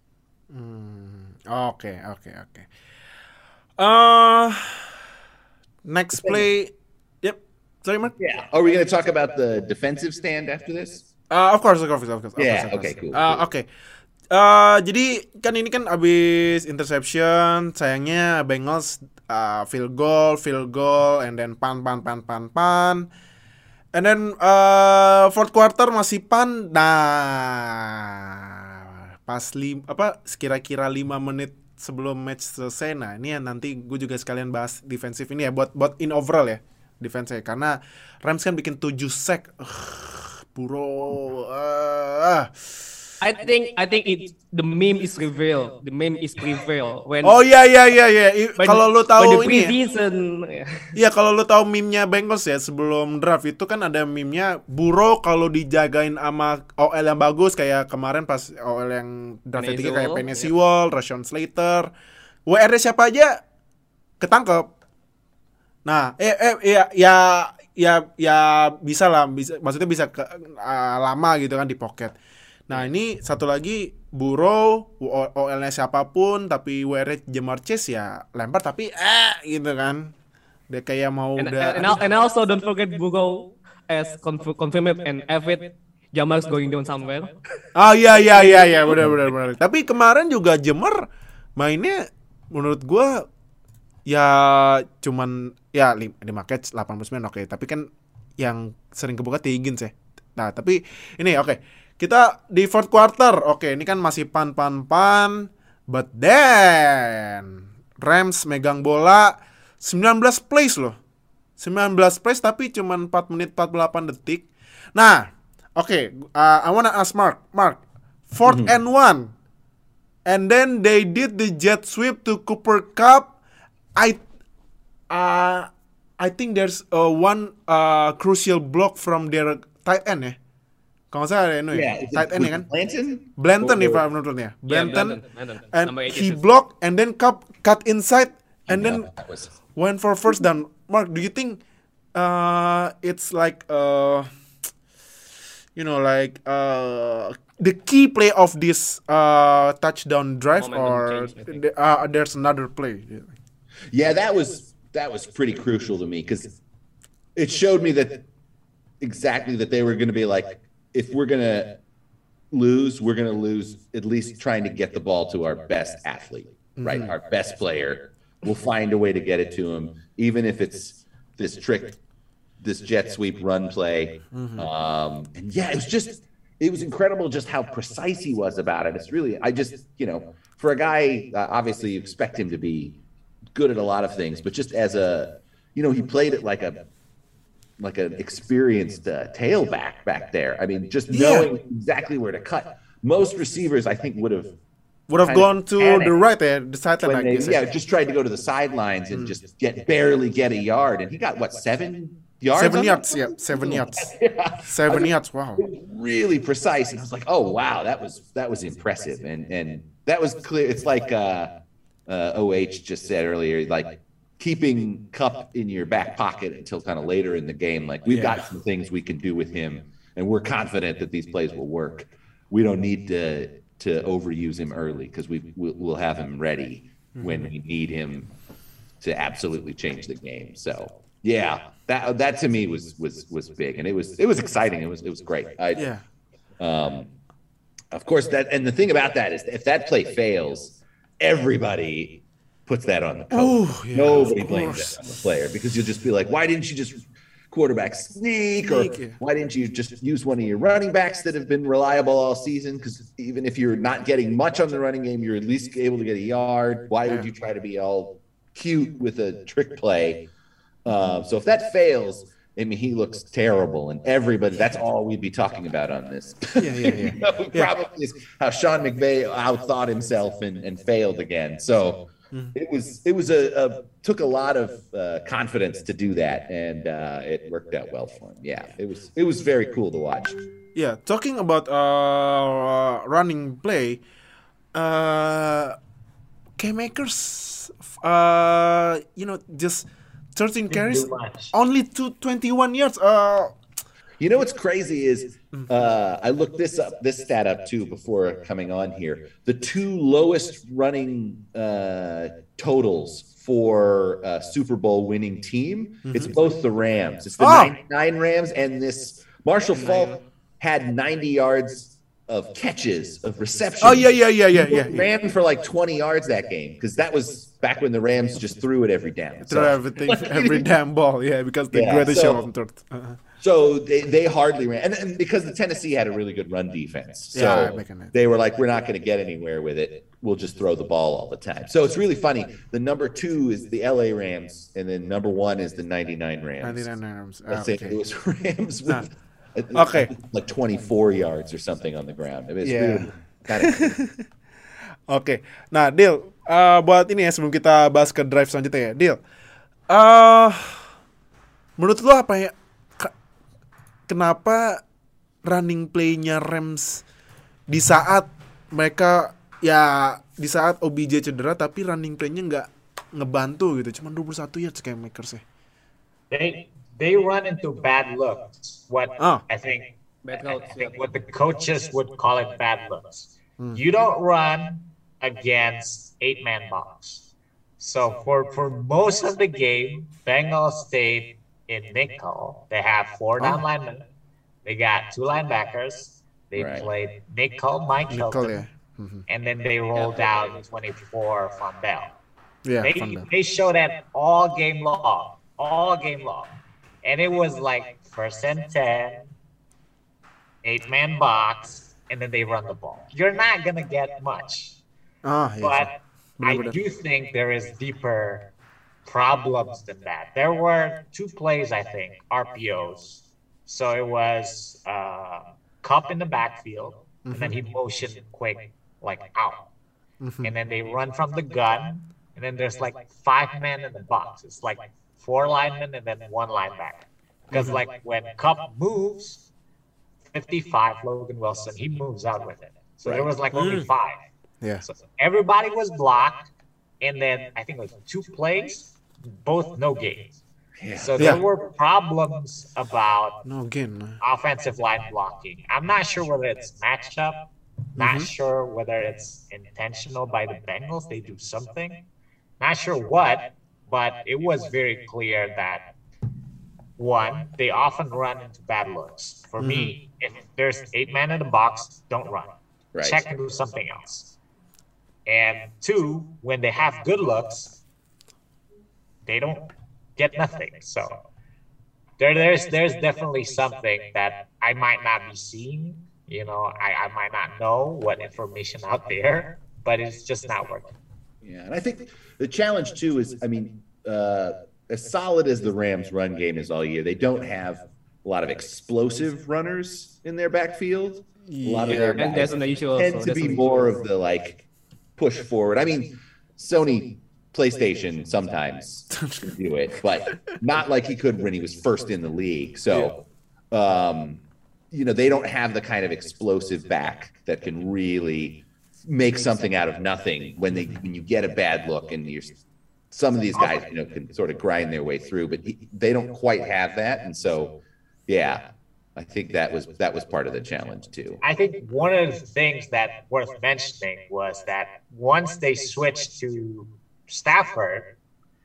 B: Okay. Next play. Yep. Sorry, Mark.
D: Yeah. Are we going to talk about the defensive stand after this?
B: Of course.
D: Yeah. Okay. Cool.
B: Oke. Jadi kan ini kan abis interception, sayangnya Bengals field goal, and then pan. And then fourth quarter masih pan. Nah, pas kira-kira 5 menit sebelum match selesai. Nah, ini yang nanti gue juga sekalian bahas defensif ini ya, buat in overall ya defense saya, karena Rams kan bikin 7 sack. Bro.
C: I think the meme is reveal. The meme is reveal when.
B: Oh iya. Kalau lu tahu
C: when the
B: ini
C: preseason.
B: Iya, kalau lu tahu meme-nya Bengals ya sebelum draft itu kan ada meme-nya Burrow kalau dijagain sama OL yang bagus kayak kemarin pas OL yang draft
C: Penny
B: ketiga kayak
C: Sewell,
B: Penny Sewell, Rashawn Slater, WR siapa aja ketangkep. Nah, ya bisa lah, maksudnya bisa lama gitu kan di pocket. Nah, ini satu lagi Burrow, OL-nya siapapun tapi WR Jamar Chase ya lempar tapi gitu kan. Dia kayak mau
C: and also don't forget Burrow as confirmed and avid Jamar's going down somewhere.
B: Iya benar. Tapi kemarin juga Jamar mainnya menurut gua ya cuman ya 5 catch 89 oke. Tapi kan yang sering kebuka Higgins ya. Nah, tapi ini oke. Kita di fourth quarter. Oke, ini kan masih pan. But then Rams megang bola 19 plays loh. 19 plays tapi cuma 4 menit 48 detik. Nah, oke, I wanna ask Mark, fourth and 1. And then they did the jet sweep to Cooper Kupp. I think there's one crucial block from their tight end ya. Kalau saya ada tight end ya kan? Blanton if I'm not wrong ya. Blanton. And he blocked and then Kupp cut inside and then went for first down. Mark, do you think it's like the key play of this touchdown drive, or there's another play?
D: Yeah, that was pretty crucial to me because it showed me that they were going to be like, if we're going to lose at least trying to get the ball to our best athlete, right? Our best player. We'll find a way to get it to him, even if it's this jet sweep run play. And yeah, it was incredible just how precise he was about it. It's really, for a guy, obviously you expect him to be good at a lot of things, but just as he played it like an experienced tailback back there. I mean, just knowing exactly where to cut. Most receivers, I think, would have
B: gone to the right there, the sideline.
D: Just tried to go to the sidelines and just barely get a yard. And he got 7 yards?
B: 7 yards, yeah, 7 yards. 7 yards, wow.
D: Really precise. And I was like, oh wow, that was impressive. And that was clear. It's like OH just said earlier, like keeping Kupp in your back pocket until kind of later in the game. Like we've got some things we can do with him, and we're confident that these plays will work. We don't need to overuse him early because we'll have him ready when we need him to absolutely change the game. So yeah, that to me was big, and it was exciting. It was great. Of course, and the thing about that is if that play fails, everybody puts that on the coach. Nobody blames that on the player because you'll just be like, why didn't you just quarterback sneak, or why didn't you just use one of your running backs that have been reliable all season? Because even if you're not getting much on the running game, you're at least able to get a yard. Why would you try to be all cute with a trick play? So if that fails, I mean, he looks terrible, and everybody, that's all we'd be talking about on this. Probably is how Sean McVay outthought himself and failed again. So it was took a lot of confidence to do that, and it worked out well for him. Yeah, it was very cool to watch.
B: Yeah, talking about running play, K-Makers, just 13 carries, only 21 yards.
D: You know what's crazy is I looked this stat up too before coming on here. The two lowest running totals for a Super Bowl winning team, it's both the Rams. It's the 99 Rams, and this Marshall Faulk had 90 yards of catches, of receptions.
B: Yeah.
D: Ran for like 20 yards that game because that was back when the Rams just threw it every down.
B: Threw everything, every damn ball, because they greatest show on third.
D: So they hardly ran, and because the Tennessee had a really good run defense, so they were like, we're not going to get anywhere with it. will just throw the ball all the time. So it's really funny. The number 2 is the LA Rams, and then number 1 is the 99 Rams.
B: 99 Rams.
D: St. Louis Rams with like 24 yards or something on the ground. I mean, it's really kind of
B: Oke. Nah, Dil, buat ini ya sebelum kita bahas ke drive selanjutnya ya, Dil. Menurut lo apa ya? Kenapa running play-nya Rams di saat mereka di saat OBJ cedera tapi running play-nya nggak ngebantu gitu, cuman 21 yards kayak Makers ya.
E: They run into bad looks. I think what the coaches would call it bad looks. You don't run against 8-man box. So for most of the game, Bengals stayed in nickel. They have 4 down linemen. They got 2 linebackers. They played nickel, Mike Hilton. And then they rolled out 24 Von Bell.
B: Yeah,
E: they showed that all game long. And it was like 1st and 10, 8-man box, and then they run the ball. You're not going to get much. But I do think there is deeper problems than that. There were 2 plays, I think, RPOs. So it was Kupp in the backfield, and then he motioned quick, like out. And then they run from the gun, and then there's like 5 men in the box. It's like 4 linemen and then 1 linebacker. Because like when Kupp moves, 55, Logan Wilson, he moves out with it. So there was like only 5.
B: Yeah.
E: So everybody was blocked, and then I think like 2 plays, both no gains.
D: Yeah.
E: So there were problems about
B: No gain.
E: offensive line blocking. I'm not sure whether it's matched up, not sure whether it's intentional by the Bengals. They do something. Not sure what, but it was very clear that, one, they often run into bad looks. For me, if there's 8-man in the box, don't run.
D: Right.
E: Check and do something else. And 2, when they have good looks, they don't get nothing. So there's definitely something that I might not be seeing. You know, I might not know what information out there, but it's just not working.
D: Yeah, and I think the challenge too is, I mean, as solid as the Rams' run game is all year, they don't have a lot of explosive runners in their backfield. A lot of their
C: and that's an issue
D: tend
C: also.
D: to be more of the like push forward. I mean, Sony PlayStation sometimes can do it, but not like he could when he was first in the league. So, you know, they don't have the kind of explosive back that can really make something out of nothing when you get a bad look, and some of these guys, you know, can sort of grind their way through, but they don't quite have that. And so, yeah, I think that was part of the challenge too.
E: I think one of the things that worth mentioning was that once they switched to Stafford,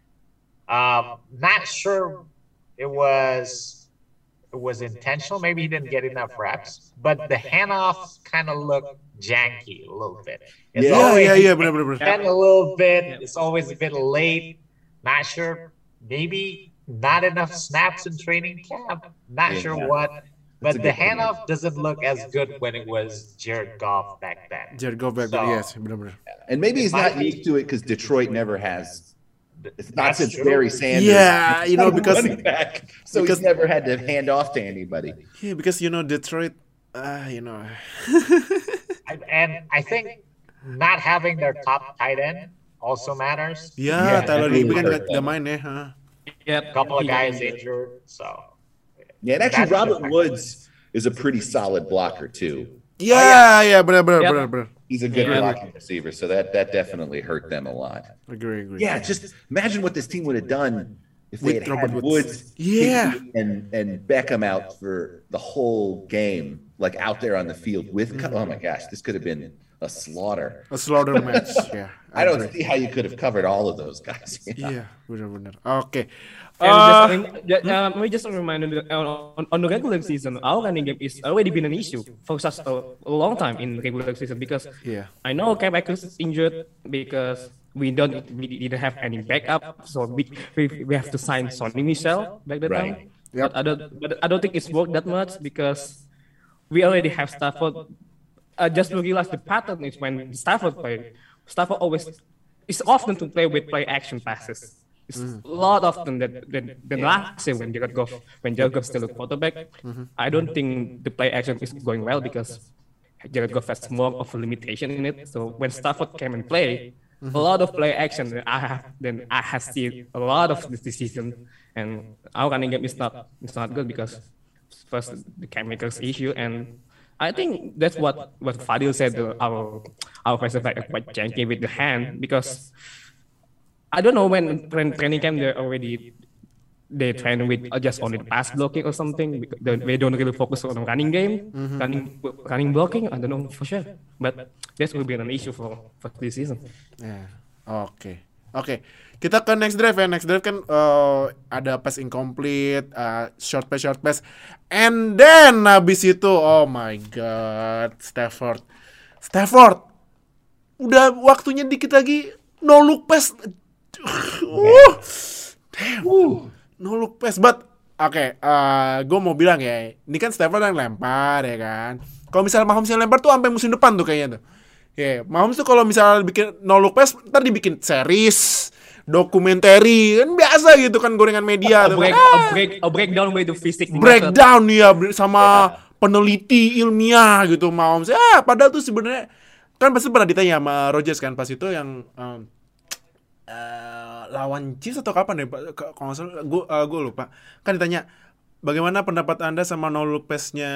E: not sure it was intentional. Maybe he didn't get enough reps, but the handoffs kind of look janky a little bit. It's
B: benar.
E: kind of a little bit. It's always a bit late. Not sure. Maybe not enough snaps in training camp. Not sure what. But the handoff doesn't look as good when it was Jared Goff back then.
B: Jared Goff back then, yes, benar.
D: And maybe he's not used to it because Detroit never has. It's not since Barry Sanders.
B: Yeah, you know, because
D: running back, so he's never had to hand off to anybody.
B: Yeah, because you know Detroit, you know.
E: And I think not having their top tight end also matters.
B: Yeah, Tyler Higbee kan nggak main ya.
E: A couple of guys injured, so.
D: Yeah, and actually Robert Woods is a pretty solid blocker too.
B: Yeah, benar.
D: He's a good blocking receiver, so that definitely hurt them a lot.
B: Agree.
D: Yeah, just imagine what this team would have done if they had
B: Robert
D: Woods,
B: Yeah.
D: Higbee, and Beckham out for the whole game, like out there on the field with. Oh my gosh, this could have been a slaughter.
B: A slaughter match. Yeah.
D: I don't see how you could have covered all of those guys.
B: Iya, benar. Oke.
C: Let me just remind you, on the regular season, our running game is already been an issue for such a long time in regular season because I know Cam Akers is injured because we didn't have any backup, so we have to sign Sonny Michel back that time.
B: Yep.
C: But I don't think it's worked that much because we already have Stafford. Just to realize the pattern is when Stafford Stafford always is often to play with play action passes. It's a lot often than last year when Jared Goff still a quarterback. I don't think the play action is going well because Jared Goff has more of a limitation in it. So when Stafford came and play, a lot of play action, I have seen a lot of this season, and our running game is not good because first the Cam Akers issue, and I think that's what Fadil said. Our offensive back are quite janky with the hand because I don't know when training camp they train with just only the pass blocking or something. They don't really focus on running game, running blocking. I don't know for sure, but that will be an issue for this season.
B: Yeah. Oke. Kita ke next drive ya. Next drive kan ada pass incomplete, short pass, and then habis itu, oh my god, Stafford, udah waktunya dikit lagi, no look pass. No look pass, but gue mau bilang ya, ini kan Stafford yang lempar ya kan. Kalau misalnya Mahomes yang lempar tuh sampai musim depan tuh kayaknya tuh. Mahomes tuh kalau misalnya bikin no look pass, ntar dibikin series, dokumentari, kan biasa gitu kan gorengan media tuh.
C: Breakdown with the physics.
B: Breakdown ya sama peneliti ilmiah gitu Mahomes. Padahal tuh sebenarnya kan pasti pernah ditanya sama Rodgers kan pas itu yang lawan Chiefs atau kapan deh Pak? Kalau nggak salah gue lupa. Kan ditanya bagaimana pendapat Anda sama no look pass-nya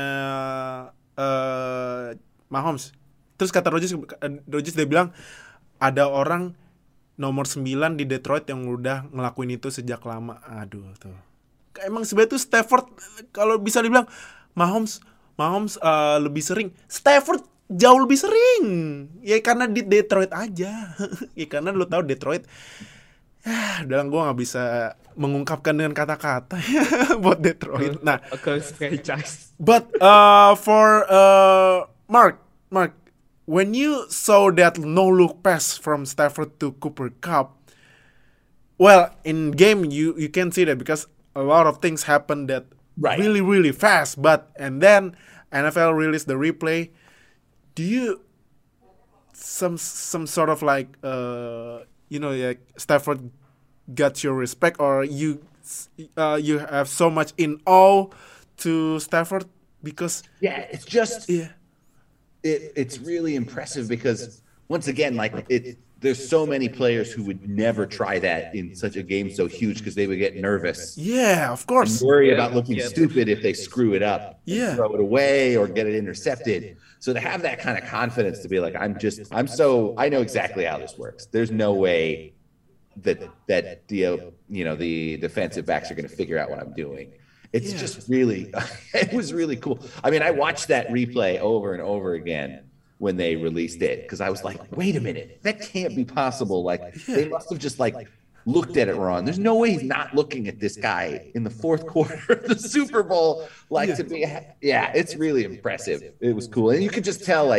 B: Mahomes. Terus kata Rodgers dia bilang ada orang nomor 9 di Detroit yang udah ngelakuin itu sejak lama. Aduh tuh. Emang sebenarnya tuh Stafford kalau bisa dibilang Mahomes lebih sering. Stafford jauh lebih sering. Ya karena di Detroit aja. Ya karena lu tahu Detroit. Dalam gue nggak bisa mengungkapkan dengan kata-kata buat Detroit. Nah, but for Mark, when you saw that no look pass from Stafford to Cooper Kupp, well, in game you can see that because a lot of things happen that really really fast. And then NFL released the replay. Do you some sort of like like Stafford got your respect, or you have so much in awe to Stafford because
D: it's just it's really impressive because once again there's so many players who would never try that in such a game so huge because they would get nervous. Yeah, of course. And worry about looking stupid if they screw it up. Yeah. Throw it away or get it intercepted. So to have that kind of confidence to be like, I know exactly how this works. There's no way that the defensive backs are going to figure out what I'm doing. It's just really, it was really cool. I mean, I watched that replay over and over again when they released it because I was like, wait a minute, that can't be possible. They must have just looked at it wrong. There's no way he's not looking at this guy in the fourth quarter of the Super Bowl. To be, it's really impressive. It was cool. And you could just tell,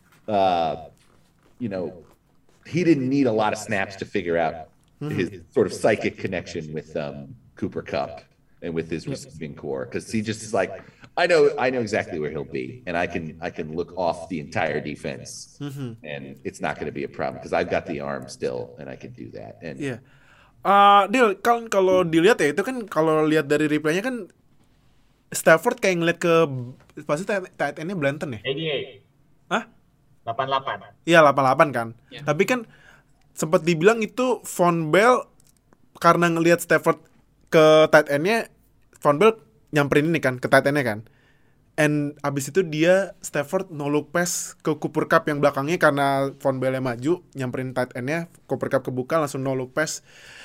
D: he didn't need a lot of snaps to figure out his sort of psychic connection with Cooper Kupp and with his receiving core. Because he just is like, I know exactly where he'll be. And I can look off the entire defense. And it's not going to be a problem because I've got the arm still and I can do that. And
B: Dil, kalau dilihat ya itu kan kalau lihat dari replaynya kan Stafford kayak ngeliat ke pasti tight end-nya Blanton ya?
E: 88.
B: Hah?
E: 88.
B: Iya 88 kan. Yeah. Tapi kan sempat dibilang itu Von Bell karena ngelihat Stafford ke tight end-nya, Von Bell nyamperin ini kan ke tight end-nya kan. And abis itu Stafford no look pass ke Cooper Kupp yang belakangnya karena Von Bell maju nyamperin tight end-nya, Cooper Kupp kebuka langsung no look pass.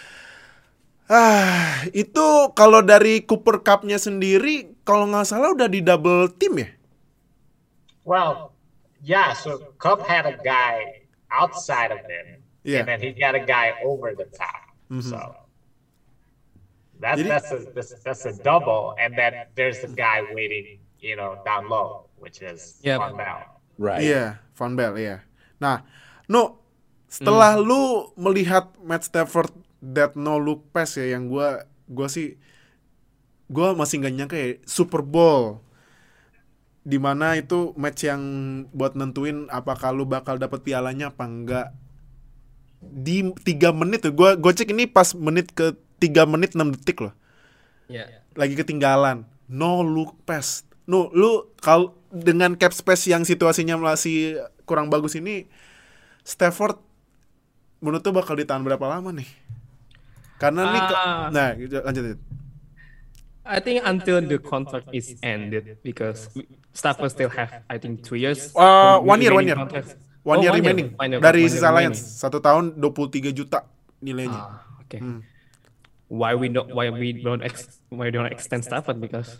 B: Itu kalau dari Cooper Kupp-nya sendiri kalau nggak salah udah di double team ya?
E: Well, so Kupp had a guy outside of him, and then he got a guy over the top. So that's a double, and then there's a guy waiting, down low, which is Von Bell.
B: Right. Iya, Von Bell, iya. Nah, setelah lu melihat Matt Stafford that no look pass ya, yang gue masih nggak nyangka ya, Super Bowl dimana itu match yang buat nentuin apakah lu bakal dapet pialanya apa enggak. di 3 menit tuh. Gue cek ini pas menit ke 3 menit 6 detik loh.
C: Yeah.
B: Lagi ketinggalan. No look pass. No, lu kalau dengan cap space yang situasinya masih kurang bagus ini, Stafford menurut tuh bakal ditahan berapa lama nih? Karena nih nah, lanjut.
C: I think until the contract is ended, because Stafford still have, I think, 2 years.
B: 1 year.
C: Contract.
B: 1 year remaining. Dari sisa Lions 1 tahun 23 juta nilainya.
C: Okay. Why we don't extend Stafford? Because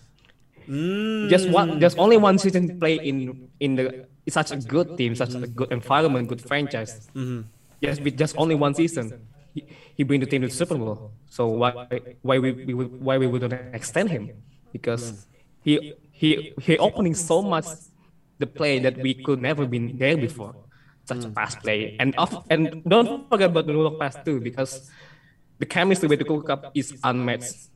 C: just only one season play in the such a good team, such a good environment, good franchise. Just only one season. He bring the team to the Super Bowl. So why we wouldn't extend him? Because he opening so much the play that we could never been there before. Such a pass play, and don't forget about the rule of pass too, because the chemistry with the Cooper Cup is unmatched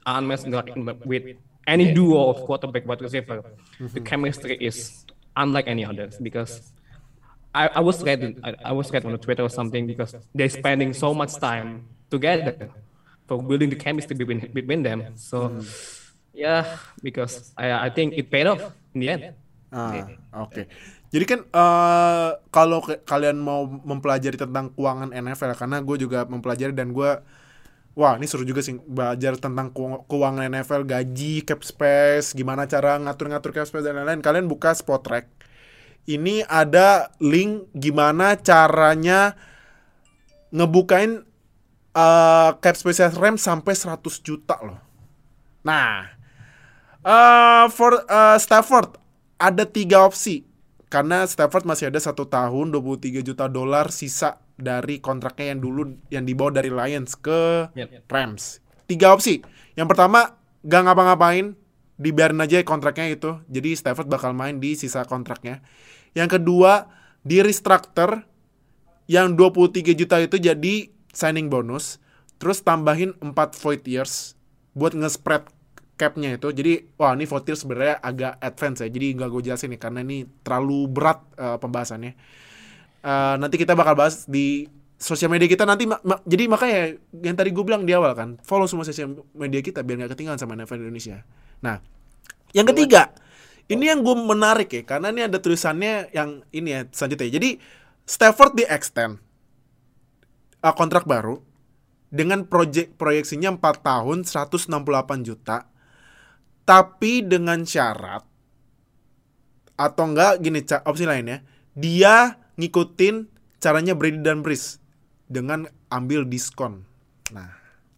C: with any duo of quarterback wide receiver. The chemistry is unlike any others, because I was read on Twitter or something, because they're spending so much time together for building the chemistry between them. So yeah, because I think it paid off in the end.
B: Oke. Jadi kan kalau kalian mau mempelajari tentang keuangan NFL, karena gue juga mempelajari dan gue, wah ini seru juga sih belajar tentang keuangan NFL, gaji, cap space, gimana cara ngatur-ngatur cap space dan lain-lain. Kalian buka Spotrac. Ini ada link gimana caranya ngebukain cap space Rams sampai 100 juta loh. Nah, for Stafford ada 3 opsi. Karena Stafford masih ada 1 tahun $23 juta sisa dari kontraknya yang dibawa dari Lions ke Rams. 3 opsi. Yang pertama, gak ngapa-ngapain, dibiarin aja kontraknya itu. Jadi Stafford bakal main di sisa kontraknya. Yang kedua, di restructure yang 23 juta itu jadi signing bonus. Terus tambahin 4 void years buat nge-spread cap-nya itu. Jadi, wah ini void years sebenarnya agak advance ya. Jadi nggak gue jelasin nih karena ini terlalu berat pembahasannya. Nanti kita bakal bahas di sosial media kita nanti. Jadi makanya yang tadi gue bilang di awal kan, follow semua sosial media kita biar nggak ketinggalan sama NFL Indonesia. Nah, yang ketiga, ini yang gue menarik ya, karena ini ada tulisannya yang ini ya selanjutnya. Jadi Stafford di extend kontrak baru dengan proyeksinya 4 tahun 168 juta, tapi dengan syarat atau enggak gini opsi lainnya, dia ngikutin caranya Brady dan Brees dengan ambil diskon. Nah,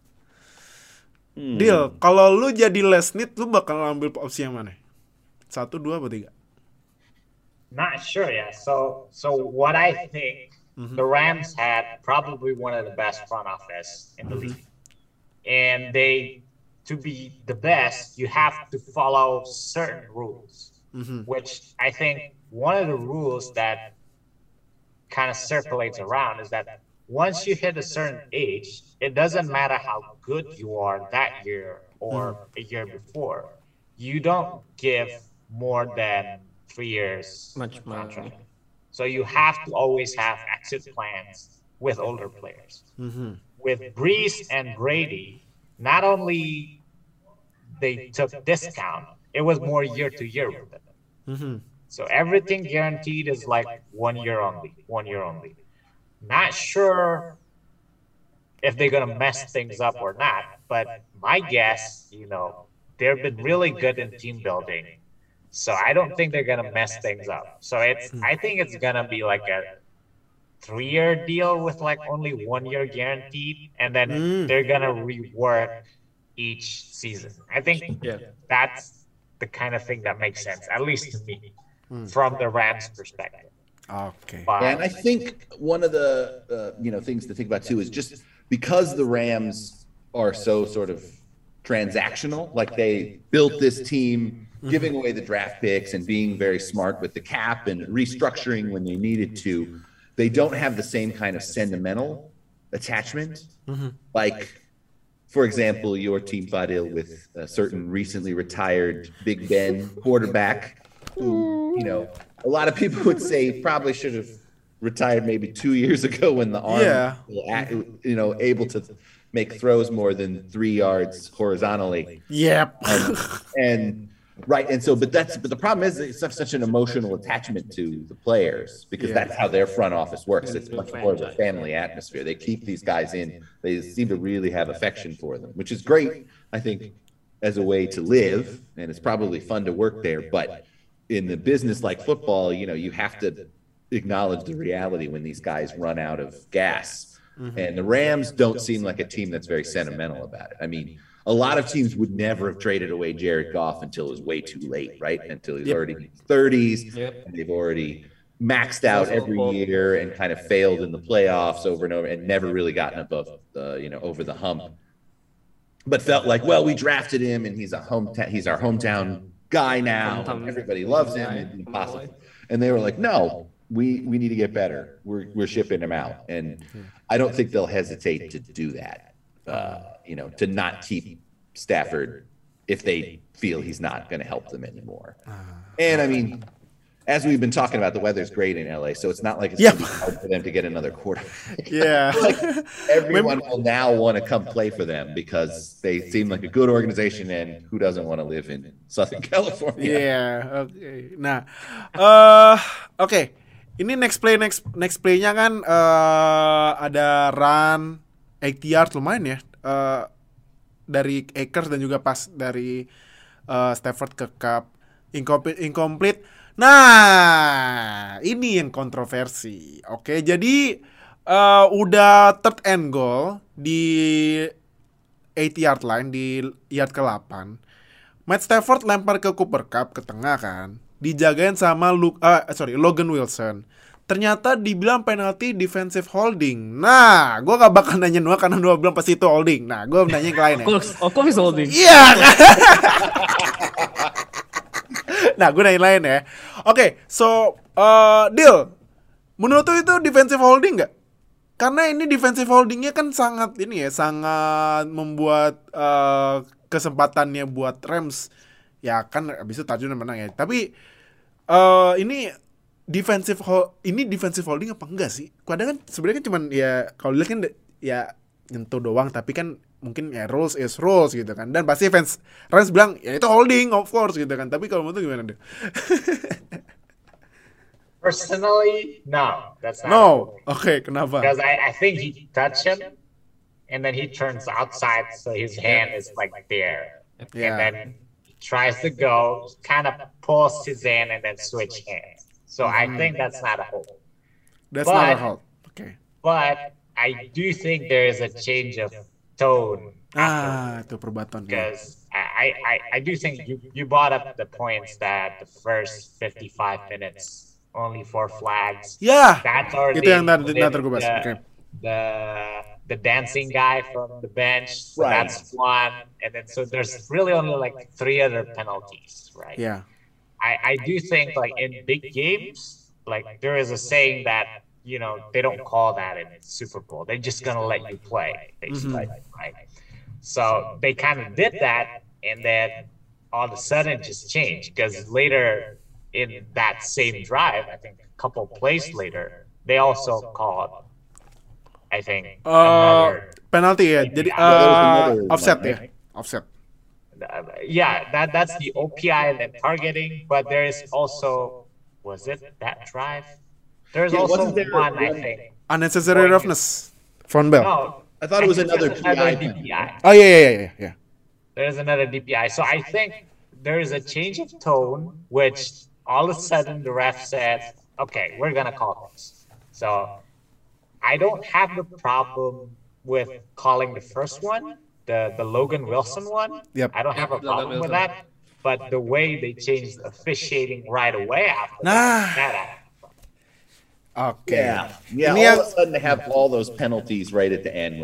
B: deal, kalau lu jadi Lesnit, lu bakal ambil opsi yang mana? 1, 2, atau 3?
E: Not sure yet. So what I think, the Rams had probably one of the best front office in the league. And to be the best, you have to follow certain rules, which I think one of the rules that kind of circulates around is that once you hit a certain age, it doesn't matter how good you are that year or a year before. You don't give more than 3 years contract. So you have to always have exit plans with older players. With Brees and Brady, not only they took discount, it was more year to year with them. So everything guaranteed is like 1 year only. Not sure if they're gonna mess things up or not, but my guess, they've been really good in team building. So I don't think they're gonna mess things up. So I think it's gonna be like a 3-year deal with like only 1 year guaranteed, and then they're gonna rework each season. I think that's the kind of thing that makes sense, at least to me, from the Rams' perspective.
B: Okay.
D: And I think one of the things to think about too is just because the Rams are so sort of transactional, like they built this team giving away the draft picks and being very smart with the cap and restructuring when they needed to, they don't have the same kind of sentimental attachment. Like, for example, your team Fadil with a certain recently retired Big Ben quarterback who, a lot of people would say probably should have retired maybe 2 years ago when the arm, able to make throws more than 3 yards horizontally.
B: Yep.
D: And the problem is it's such an emotional attachment to the players because that's how their front office works. It's much more of a family atmosphere. They keep these guys in. They seem to really have affection for them, which is great, I think, as a way to live, and it's probably fun to work there. But in the business like football, you have to acknowledge the reality when these guys run out of gas. And the Rams don't seem like a team that's very sentimental about it. I mean, a lot of teams would never have traded away Jared Goff until it was way too late, right? Until he's already in his 30s, and they've already maxed out every year and kind of failed in the playoffs over and over and never really gotten above over the hump. But felt like, well, we drafted him and he's our hometown guy now. Everybody loves him. It's impossible. And they were like, no, we need to get better. We're shipping him out. And I don't think they'll hesitate to do that, to not keep Stafford if they feel he's not going to help them anymore. And I mean, as we've been talking about, the weather's great in LA, so it's not like it's going to be hard for them to get another quarterback.
B: Yeah.
D: Like everyone will now want to come play for them because they seem like a good organization, and who doesn't want to live in Southern California?
B: Yeah, okay. Nah, okay. Ini next play-nya kan ada run 80 yards lumayan ya. Dari Akers dan juga pas dari Stafford ke Cup incomplete. Nah, ini yang kontroversi. Oke, jadi udah third and goal di 8-yard line di yard ke-8. Matt Stafford lempar ke Cooper Kupp ke tengah kan. Dijagain sama Logan Wilson. Ternyata dibilang penalti defensive holding. Nah, gue gak bakal nanya Noah karena Noah bilang pasti itu holding. Nah, gue nanya yang lain ya.
C: Of course holding.
B: Iya. Nah, gue nanya lain ya. Oke, so Dil, menurut lu itu defensive holding gak? Karena ini defensive holdingnya kan sangat membuat kesempatannya buat Rams. Ya kan abis itu touchdown menang ya. Tapi ini defensive holding apa enggak sih? Kadang kan sebenarnya kan cuman ya kalau dilihat kan ya nyentuh doang, tapi kan mungkin ya rules is rules gitu kan. Dan pasti fans Rams bilang ya itu holding of course gitu kan. Tapi kalau menurut lu gimana deh?
E: Personally, no, that's not.
B: No, okay, kenapa?
E: Because I think he touched him, and then he turns outside, so his hand is like there, and then he tries to go, kind of pulls his hand, and then switch hands. So I think that's not a hold.
B: That's not a hold. Okay.
E: But I do think there is a change of tone.
B: Itu perbatan.
E: Because I do think you brought up the points that the first 55 minutes. Only 4 flags.
B: Yeah.
E: That's already
B: itu yang tadi gue bahas. Okay.
E: The dancing guy from the bench. So right. That's one. And then so there's really only like 3 other penalties, right?
B: Yeah.
E: I do think like in big games, like there is a saying that, they don't call that in Super Bowl. They're just gonna let you play, basically, right? So they kind of did that, and then all of a sudden it just changed because later in that same drive, I think a couple plays later, they also called, I think, another
B: penalty. Yeah, jadi offset ya, offset.
E: Yeah, that's the OPI and then targeting, but there is also, was it that drive? There's also one, I think,
B: unnecessary roughness, front bell.
E: No,
D: I thought it was another
E: DPI.
B: Oh yeah.
E: There's another DPI. So I think there is a change of tone, which all of a sudden the ref says, okay, we're going to call this. So I don't have the problem with calling the first one, the Logan Wilson one.
B: Yep.
E: I don't have a problem with that. But the way they changed officiating right away after that.
B: Okay.
D: Yeah. All of a sudden to have all those penalties right at the end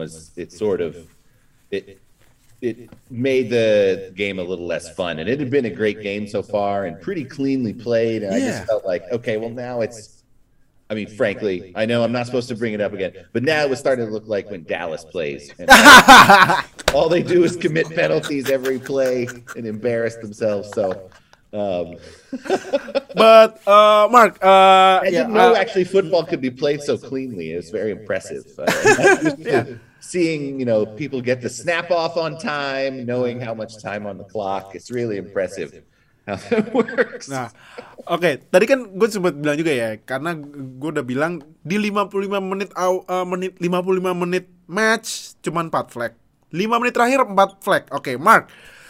D: it made the game a little less fun. And it had been a great game so far and pretty cleanly played. And I just felt like, okay, well now frankly, I know I'm not supposed to bring it up again, but now it was starting to look like when Dallas plays. And all they do is commit penalties every play and embarrass themselves. So
B: But Mark,
D: I didn't know actually football could be played so cleanly. It's very impressive. Seeing people get the snap off on time, knowing how much time on the clock, it's really impressive how that works.
B: Nah, oke, tadi kan gue sempat bilang juga ya, karena gue udah bilang di 55 menit match cuman 4 flag. 5 menit terakhir 4 flag. Oke, Mark.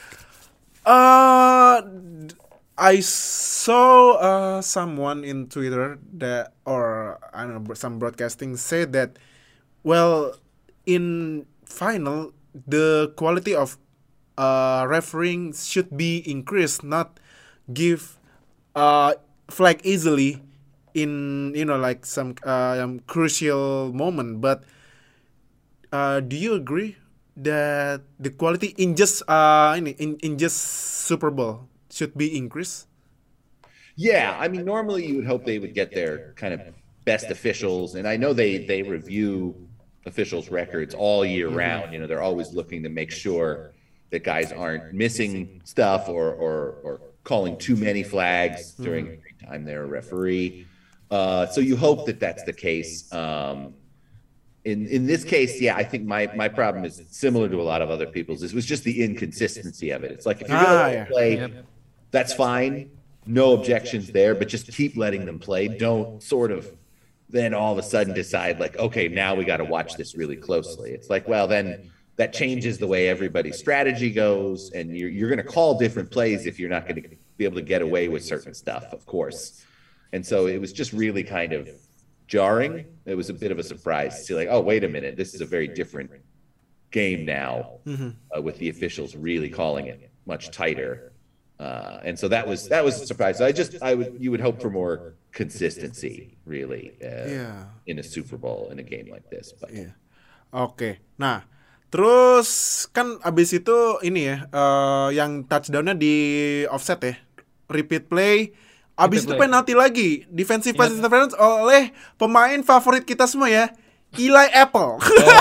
B: I saw someone in Twitter that, or I don't know, some broadcasting said that, well, in final the quality of refereeing should be increased, not give flag easily in like some crucial moment. But do you agree that the quality in just in just Super Bowl should be increased?
D: Yeah, I mean, normally you would hope they would get their kind of best officials, and I know they review officials' records all year round. They're always looking to make sure that guys aren't missing stuff or calling too many flags during every time they're a referee. So you hope that that's the case. In this case, yeah, I think my problem is similar to a lot of other people's. It was just the inconsistency of it. It's like if you're going to play, that's fine. No objections there, but just keep letting them play. Don't sort of then all of a sudden decide like, okay, now we got to watch this really closely. It's like, well, then that changes the way everybody's strategy goes, and you're going to call different plays if you're not going to be able to get away with certain stuff, of course. And so it was just really kind of jarring. It was a bit of a surprise to see like, oh, wait a minute, this is a very different game now with the officials really calling it much tighter. And so that was a surprise. You would hope for more consistency, really, in a Super Bowl in a game like this. But.
B: Yeah. Oke. Nah, terus kan abis itu ini ya, yang touchdownnya di offset ya, repeat play. Abis itu penalti lagi, defensive pass interference oleh pemain favorit kita semua ya, Eli Apple.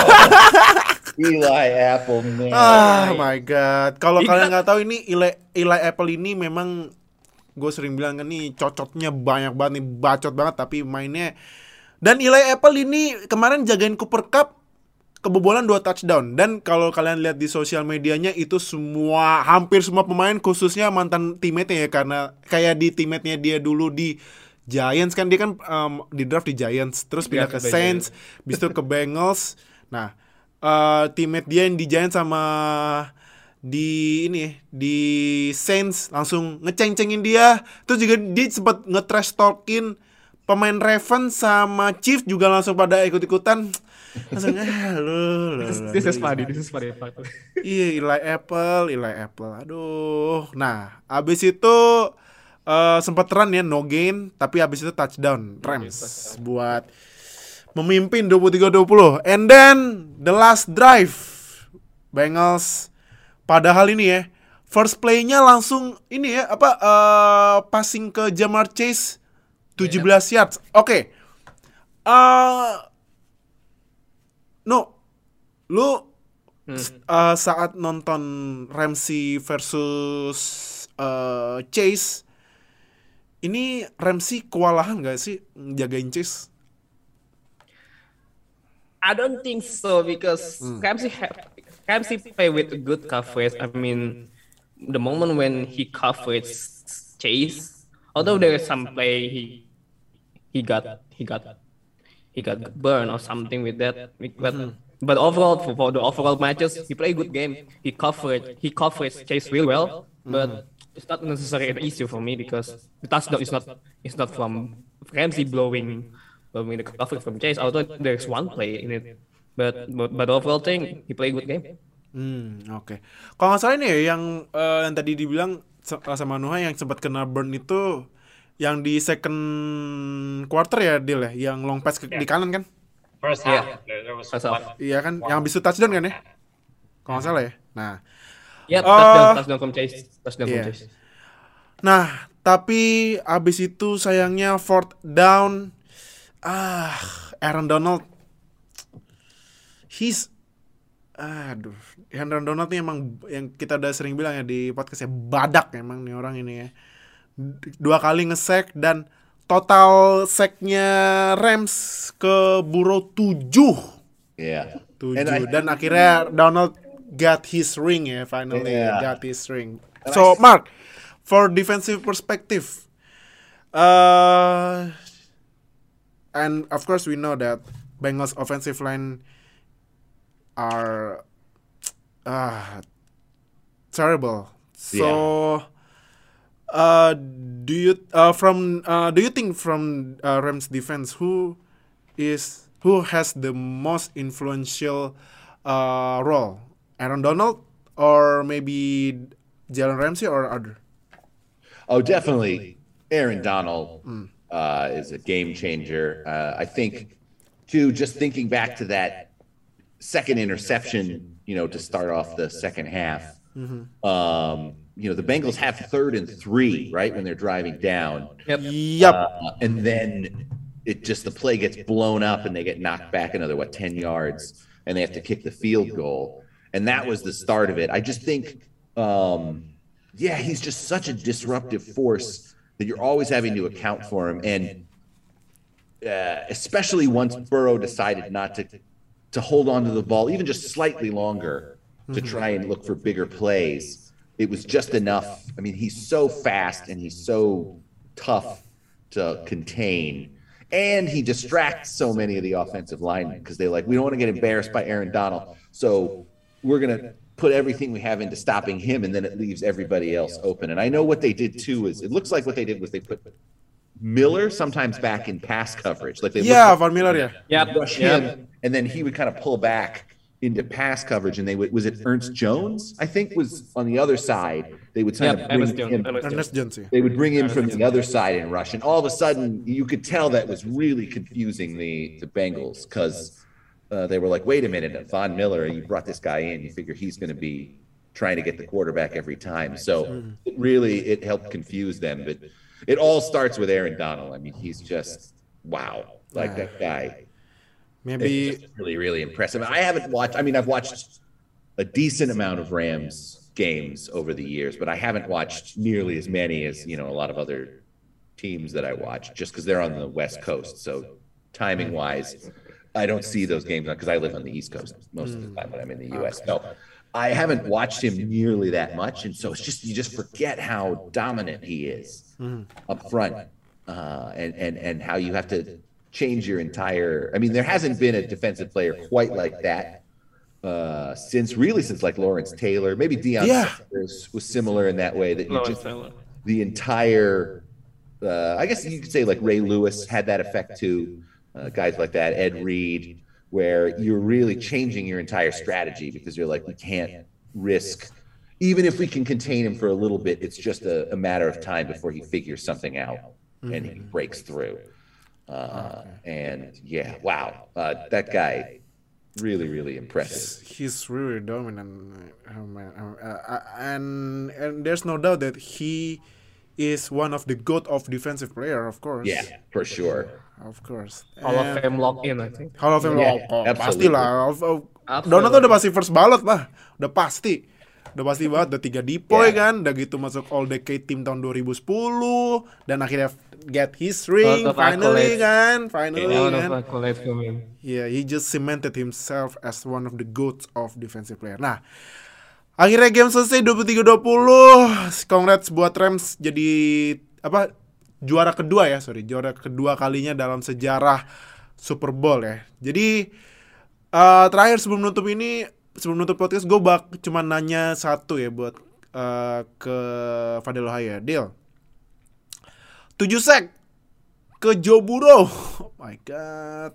D: Eli Apple, man.
B: Oh my god. Kalau kalian nggak tahu ini Eli Apple ini memang gue sering bilang kan nih cocotnya banyak banget nih, bacot banget tapi mainnya. Dan Eli Apple ini kemarin jagain Cooper Kupp kebobolan 2 touchdown. Dan kalau kalian lihat di sosial medianya itu hampir semua pemain khususnya mantan teammate-nya ya, karena kayak di teammate-nya dia dulu di Giants kan, dia kan di draft di Giants, terus pindah ke Saints, habis itu ke Bengals. Nah, teammate dia yang di Giants sama di Saints langsung ngeceng-cengin dia. Terus juga dia sempat nge-trash talkin pemain Ravens sama Chiefs juga langsung pada ikut-ikutan. Langsung
C: This is funny.
B: Iya, Eli Apple. Aduh. Nah, abis itu sempat run ya, no gain, tapi abis itu touchdown Rams buat memimpin 23-20. And then the last drive Bengals, padahal ini ya first play-nya langsung ini ya passing ke Jamar Chase 17 yards. Oke. Lu saat nonton Ramsey versus Chase, ini Ramsey kewalahan gak sih jagain Chase?
C: I don't think so because Ramsey play with good coverage. I mean, the moment when he covered Chase, although there is some play he got burned or something with that. But overall, for the overall matches, he played a good game. He covered Chase real well, but it's not necessarily an issue for me because the touchdown is not from Ramsey blowing the coverage from Chase. Although there's one play in it, but overall thing he played a good game.
B: Oke. Kalau nggak salah ini ya yang tadi dibilang sama Nuha yang sempat kena burn itu yang di second quarter ya, Dil ya, yang long pass di kanan kan?
E: First half, there was one.
B: Iya kan, yang habis itu touchdown kan ya? Kalau nggak salah ya. Nah,
C: touchdown from Chase.
B: Nah, tapi abis itu sayangnya fourth down, Aaron Donald, Aaron Donald nih emang yang kita udah sering bilang ya di podcast ya, badak emang nih orang ini ya. 2 kali nge-sack dan total sack-nya Rams ke Burrow 7.
D: Yeah.
B: 7 dan akhirnya Donald got his ring ya, finally got his ring.
D: And
B: So Mark, for defensive perspective, and of course we know that Bengals offensive line are terrible. So do you think from Rams defense who has the most influential role? Aaron Donald or maybe Jalen Ramsey or other?
D: Oh, definitely Aaron Donald is a game changer. I think, too, just thinking back to that second interception, to start off the second half. The Bengals have 3rd and 3, right, when they're driving down.
B: Yep.
D: And then the play gets blown up and they get knocked back another, 10 yards, and they have to kick the field goal. And that was the start of it. I just think, he's just such a disruptive force that you're always having to account for him. And especially once Burrow decided not to hold on to the ball, even just slightly longer, to try and look for bigger plays, it was just enough. I mean, he's so fast and he's so tough to contain. And he distracts so many of the offensive linemen because they're like, we don't want to get embarrassed by Aaron Donald. So we're going to put everything we have into stopping him, and then it leaves everybody else open. And I know what they did, too, is it looks like what they did was they put Miller sometimes back in pass coverage. Like
B: Von Miller,
D: rush him, and then he would kind of pull back into pass coverage, and was it Ernst Jones, I think, was on the other side. They would kind of bring him from the other side and rush, and all of a sudden you could tell that was really confusing the Bengals, because they were like, wait a minute, Von Miller, you brought this guy in, you figure he's going to be trying to get the quarterback every time. So it helped confuse them, but it all starts with Aaron Donald. I mean, he's just wow, like that guy. Maybe really, really impressive. I've watched a decent amount of Rams games over the years, but I haven't watched nearly as many as, a lot of other teams that I watch, just because they're on the West Coast. So timing wise, I don't see those games because I live on the East Coast most of the time when I'm in the U.S. So I haven't watched him nearly that much, and so you just forget how dominant he is up front, and how you have to change your entire. I mean, there hasn't been a defensive player quite like that since like Lawrence Taylor, maybe Deion Sanders was similar in that way, that you just the entire. I guess you could say like Ray Lewis had that effect too. Guys like that, Ed Reed, where you're really changing your entire strategy because you're like, we can't risk, even if we can contain him for a little bit, it's just a matter of time before he figures something out and he breaks through. And that guy, really, really impressive.
B: He's really dominant, and there's no doubt that he is one of the GOAT of defensive player, of course.
D: Yeah, for sure.
B: Of course.
C: Hall of Fame lock in, I think.
B: Hall of Fame lock in. Pastilah. Donald tuh udah pasti first ballot lah. Udah pasti banget. Udah 3 depoy kan. Udah gitu masuk All Decade Team tahun 2010. Dan akhirnya get his ring. Finally kan. Yeah, he just cemented himself as one of the GOATs of defensive player. Nah, akhirnya game selesai 23-20. Congrats buat Rams jadi juara kedua kalinya dalam sejarah Super Bowl ya. Jadi terakhir sebelum nutup podcast, gue cuma nanya satu ya buat ke Fadel Ohaya. Deal 7 sack ke Joe Burrow. Oh my god.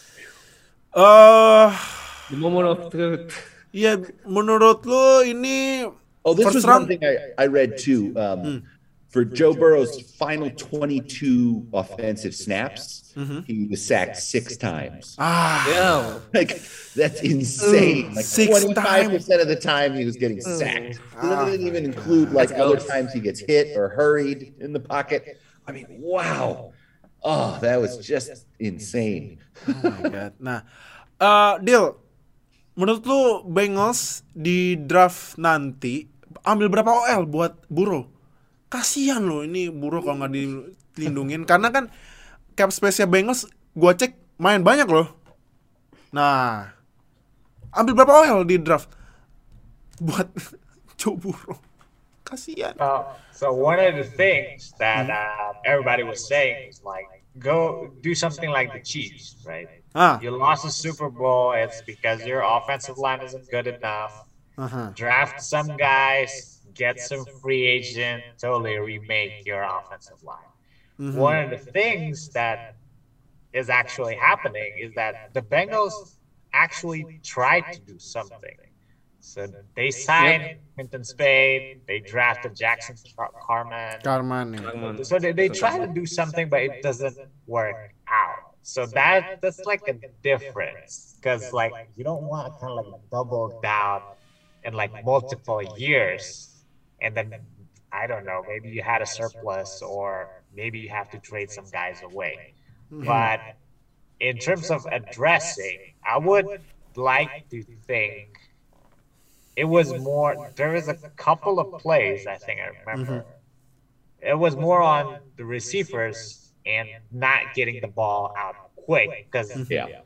C: The moment of truth.
B: Iya, menurut lo ini
D: this was one thing I read too. For Joe Burrow's final 22 offensive snaps, he was sacked 6 times.
C: Yeah.
D: Like, that's insane. Like
B: 6
D: 25% of the time he was getting sacked. He doesn't even include like other times he gets hit or hurried in the pocket. I mean, wow. Oh, that was just insane.
B: Oh my god. Nah, Dil, menurut lu Bengals di draft nanti ambil berapa OL buat Burrow? kasihan loh ini Burrow kalau nggak dilindungin karena kan cap space-nya Bengals gua cek main banyak loh. Nah, ambil berapa OL di draft buat Joe Burrow. Kasihan.
E: So one of the things that everybody was saying is like, go do something like the Chiefs, right? You lost the Super Bowl. It's because your offensive line isn't good enough. Draft some guys, get some free agent, totally remake your offensive line. One of the things that is actually happening is that the Bengals actually tried to do something. So they signed Quinton Spade, they drafted Jackson Carman. So they try to do something, but it doesn't work out. So that's like a difference, because like you don't want to kind of like double down in like multiple years, and then I don't know, maybe you had a surplus, or maybe you have to trade some guys away. But in terms of addressing, I would like to think it was more, there was a couple of plays, I think I remember. It was more on the receivers and not getting the ball out quick. Because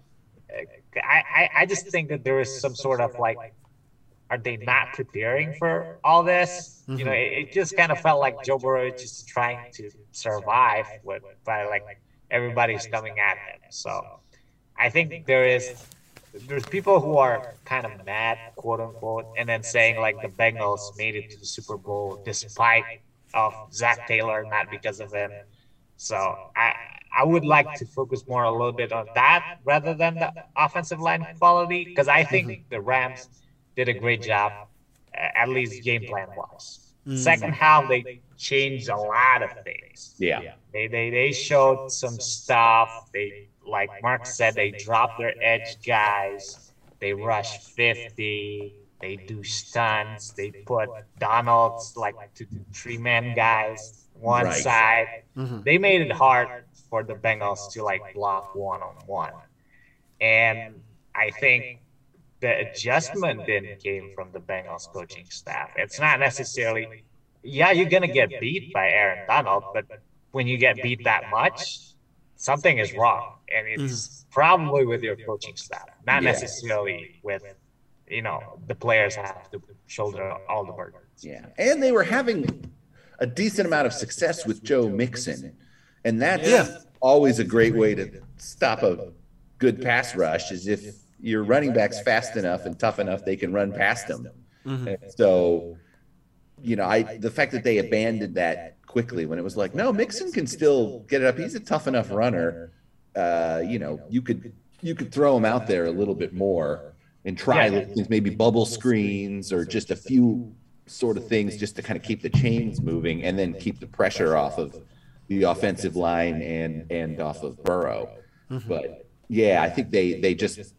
E: I just think that there is some sort of like, are they not preparing for all this? You know, it just kind of felt like Joe Burrow is just trying to survive by like everybody's coming at him. So I think there's people who are kind of mad, quote unquote, and then saying like the Bengals made it to the Super Bowl despite of Zach Taylor, not because of him. So I would like to focus more a little bit on that rather than the offensive line quality, because I think the Rams did a great job, at least game plan wise. Second half, they changed a lot of things. They showed some stuff. They, like Mark said, they dropped their edge guys. They rush 50. They do stunts. They put Donald's like 3-man guys one side. They made it hard for the Bengals to like block one-on-one. And I think the adjustment then came from the Bengals coaching staff. It's not necessarily, you're going to get beat by Aaron Donald, but when you get beat that much, something is wrong. And it's probably with your coaching staff, not necessarily with, the players have to shoulder all the burdens.
D: Yeah. And they were having a decent amount of success with Joe Mixon. And that's always a great way to stop a good pass rush, is if your running back's fast enough and tough enough, they can run past them. So, the fact that they abandoned that quickly when it was like, no, Mixon can still get it up. He's a tough enough runner. You could throw him out there a little bit more and try things, maybe bubble screens or just a few sort of things just to kind of keep the chains moving and then keep the pressure off of the offensive line and off of Burrow. But I think they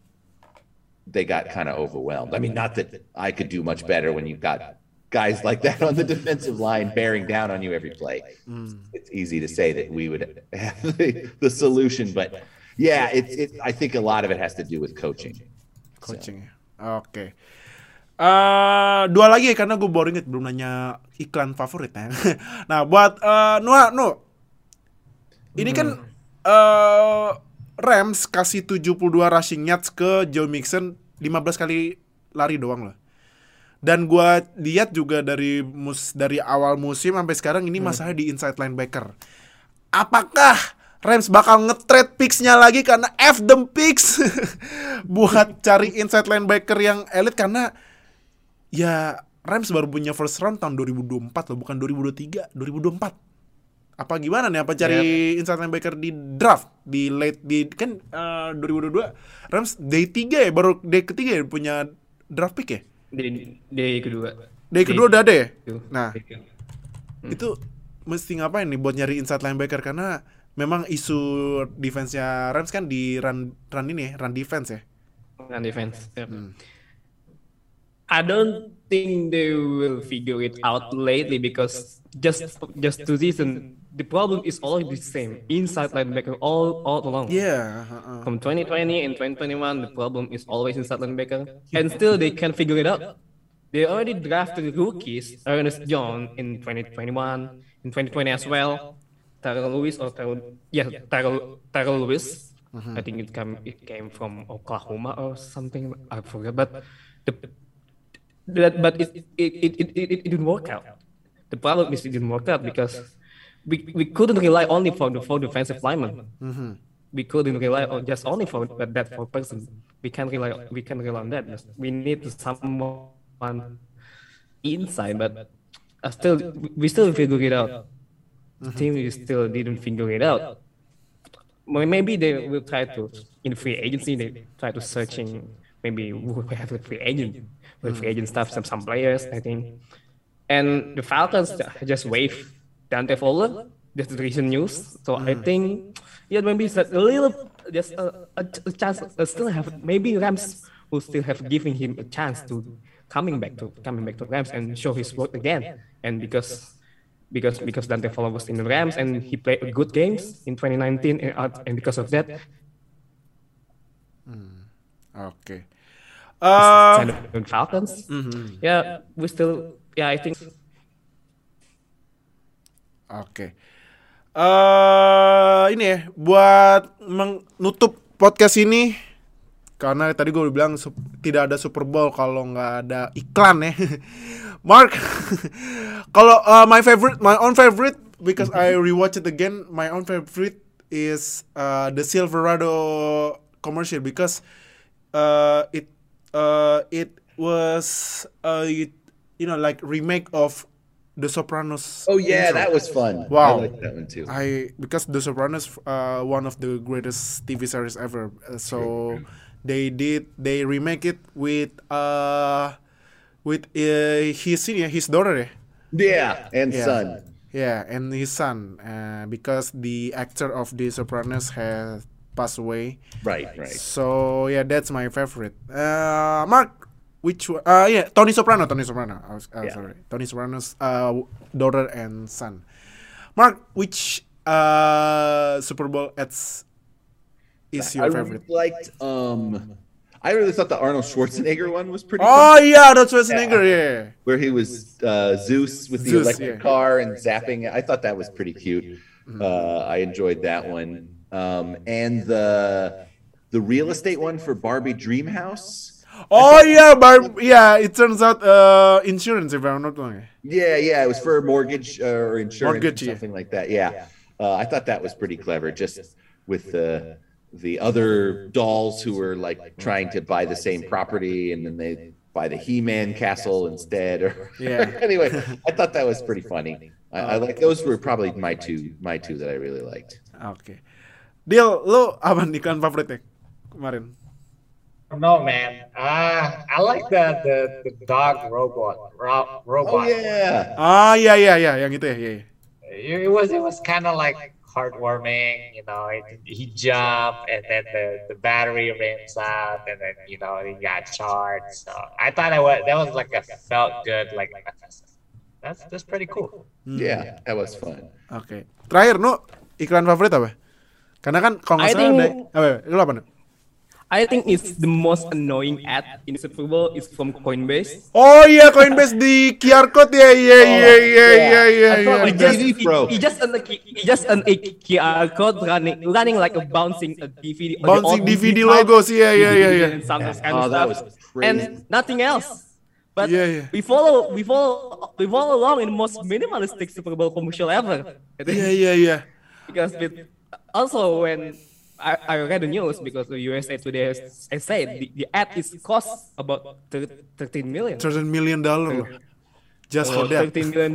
D: got kind of overwhelmed. I mean, not that I could do much better when you've got guys like that on the defensive line bearing down on you every play. It's easy to say that we would have the solution, but I think a lot of it has to do with coaching.
B: Oke. Dua lagi karena gue boring belum nanya iklan favorit ya. Nah, buat Noah, ini kan Rams kasih 72 rushing yards ke Joe Mixon, 15 kali lari doang loh. Dan gue lihat juga dari awal musim sampai sekarang ini masalah di inside linebacker. Apakah Rams bakal nge-trade picks-nya lagi karena F them picks buat cari inside linebacker yang elit, karena ya Rams baru punya first round tahun 2024 loh, bukan 2023, 2024. Apa gimana nih? Apa cari inside linebacker di draft di late di kan 2022 Rams day 3 ya, baru day ketiga ya punya draft pick ya?
C: Day kedua.
B: Day kedua udah ada ya? Nah, itu mesti ngapain nih buat nyari inside linebacker, karena memang isu defense-nya Rams kan di run defense ya.
C: Run defense. I don't think they will figure it out lately, because just two season the problem is always the same, inside linebacker all along. From 2020 and 2021 the problem is always inside linebacker, and still they can't figure it out. They already drafted rookies, Ernest Jones in 2021, in 2020 as well. Terrell Lewis or Terrell Lewis. I think it came from Oklahoma or something. I forget, but it didn't work out. The problem is it didn't work out because we couldn't rely only for the 4 defensive linemen. We couldn't rely on just only for that 4 person. We can't rely on that. We need someone inside, but we still figure it out. The team still didn't figure it out. Maybe they will try to in free agency. They try to searching maybe who have a free agent with free agent stuff, some players I think. And the Falcons just waived Dante Fowler. That's the recent news. So I think maybe it's a little just a chance. Still have maybe Rams will still have giving him a chance to coming back to Rams and show his work again. And because Dante Fowler was in the Rams and he played good games in 2019 and because of that.
B: Okay.
C: Falcons. Yeah, we still. Yeah, I think.
B: Oke. Ini ya buat menutup podcast ini karena tadi gue udah bilang tidak ada Super Bowl kalau nggak ada iklan ya. Mark, kalau my own favorite because I rewatch it again. My own favorite is the Silverado commercial because it was like remake of The Sopranos.
D: Oh yeah,
B: intro.
D: that was fun.
B: Wow,
D: I like that one too.
B: Because The Sopranos one of the greatest TV series ever. So they remake it with his daughter.
D: Yeah, and son.
B: Yeah, and his son. Because the actor of The Sopranos has passed away.
D: Right.
B: So yeah, that's my favorite. Mark, which one? Tony Soprano. Sorry, Tony Soprano's daughter and son. Mark, which Super Bowl ads is your favorite?
D: Really liked. I really thought the Arnold Schwarzenegger one was pretty.
B: Oh
D: fun.
B: yeah, that's Schwarzenegger. Yeah.
D: Where he was Zeus with the electric car and zapping. I thought that was pretty cute. I enjoyed that one. And the real estate one for Barbie Dreamhouse.
B: Oh yeah, it turns out insurance if I'm not wrong.
D: Yeah, it was for mortgage or insurance
B: Mortgage,
D: or something like that. Yeah, I thought that was pretty clever. Just with the other dolls who were like trying to buy the same property and then they buy the He-Man castle instead. Or anyway, I thought that was pretty funny. I like those were probably my two that I really liked.
B: Okay. Deal, lo apa iklan favoritnya kemarin?
E: No man, I like the dog robot.
D: Oh yeah.
B: Yang itu ya.
E: It was kind of like heartwarming, he jumped and then the battery rims out and then he got charged. So I thought that was like a felt good like that's pretty cool.
D: Yeah, that was fun.
B: Okay. Terakhir iklan favorit apa? Karena kan kalau nggak salah lu apa?
C: I think it's the most annoying ad in the Super Bowl is from Coinbase.
B: Oh iya, Coinbase di QR code ya.
C: He just an a QR code running like a bouncing DVD.
B: Bouncing DVD logo sih ya.
C: And some kind of stuff.
D: That was crazy.
C: And nothing else. But we follow along in the most minimalistic Super Bowl commercial ever.
B: Iya.
C: Because also when I read the news because the USA Today said the ad is cost about $13 million.
B: $13 million just for that.
C: $13 million.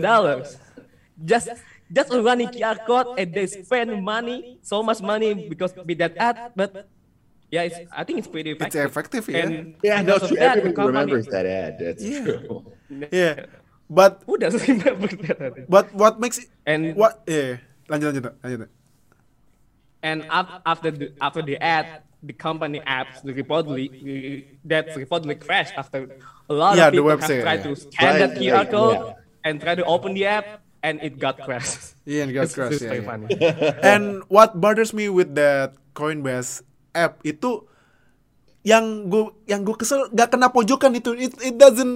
C: Just running QR code and they spend so much money because with that ad. But yeah, I think it's pretty effective.
B: It's effective, yeah.
C: And
D: no, everyone remembers that ad. That's true.
B: Yeah, but
C: who doesn't remember that?
B: But what makes it?
C: And
B: what? Yeah, lanjut.
C: And after the ad, the company apps reportedly crashed after a lot of people have tried to scan that QR code and try to open the app and it got crashed.
B: Yeah, it got crashed.
C: Very funny.
B: And what bothers me with that Coinbase app itu yang gue kesel gak kena pojokan itu. It doesn't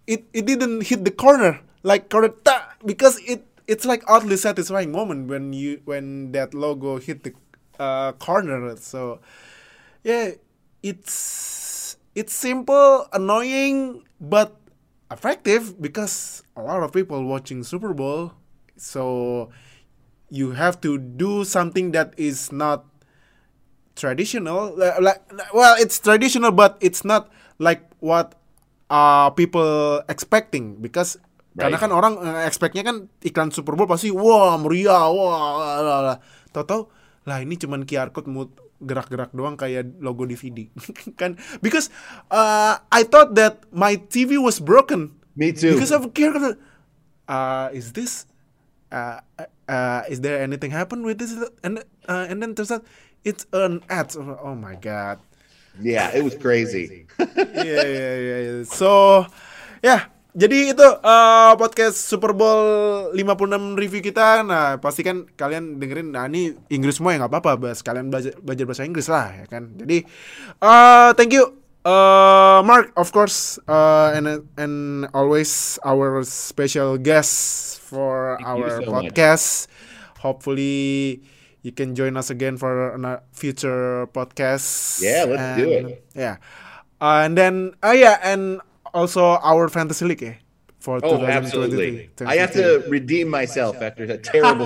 B: it didn't hit the corner like correct because it's like oddly satisfying moment when that logo hit the corner. So yeah, it's simple, annoying, but effective because a lot of people watching Super Bowl. So you have to do something that is not traditional. Well, it's traditional, but it's not like what people expecting because karena kan orang expectnya kan iklan Super Bowl pasti wah meriah, wah tahu lah ini cuman QR code gerak-gerak doang kayak logo DVD kan, because I thought that my TV was broken.
D: Me too.
B: Because of QR code. Is this is there anything happen with this? And then turns out it's an ad. Oh my god.
D: Yeah, it was crazy.
B: Yeah. So ya, jadi itu podcast Super Bowl 56 review kita. Nah, pasti kan kalian dengerin. Nah, ini Inggris semua ya nggak apa-apa, bahas kalian belajar bahasa Inggris lah, ya kan. Jadi thank you Mark, of course, and always our special guest for our podcast. Hopefully you can join us again for a future podcast.
D: Yeah, let's do it.
B: Yeah, and then and also our fantasy league for 2023.
D: Absolutely. I have to redeem myself after that terrible.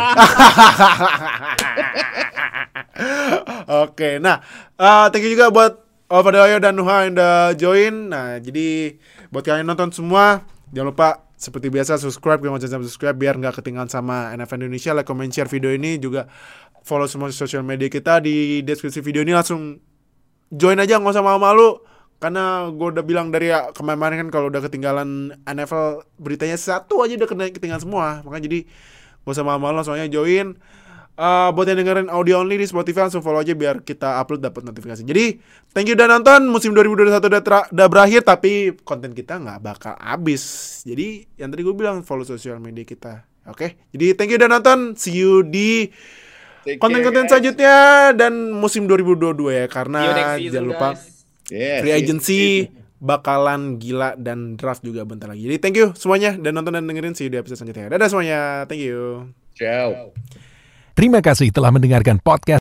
B: Oke, nah thank you juga buat Fadelayo dan Nuha yang udah join. Nah, jadi buat kalian nonton semua, jangan lupa seperti biasa subscribe, subscribe biar nggak ketinggalan sama NFL Indonesia. Like, comment, share video ini, juga follow semua sosial media kita di deskripsi video ini. Langsung join aja, nggak usah malu-malu. Karena gue udah bilang dari kemarin kan kalau udah ketinggalan NFL beritanya satu aja udah ketinggalan semua. Makanya jadi gak usah malu-malu, soalnya join. Buat yang dengerin audio only di Spotify langsung follow aja biar kita upload dapat notifikasi. Jadi thank you udah nonton. Musim 2021 udah berakhir, tapi konten kita gak bakal habis. Jadi yang tadi gue bilang follow sosial media kita. Oke, jadi thank you udah nonton. See you di konten-konten selanjutnya dan musim 2022 ya. Karena jangan lupa free agency bakalan gila dan draft juga bentar lagi. Jadi thank you semuanya dan nonton dan dengerin. See you di episode selanjutnya. Dadah semuanya. Thank you.
D: Ciao.
A: Terima kasih telah mendengarkan podcast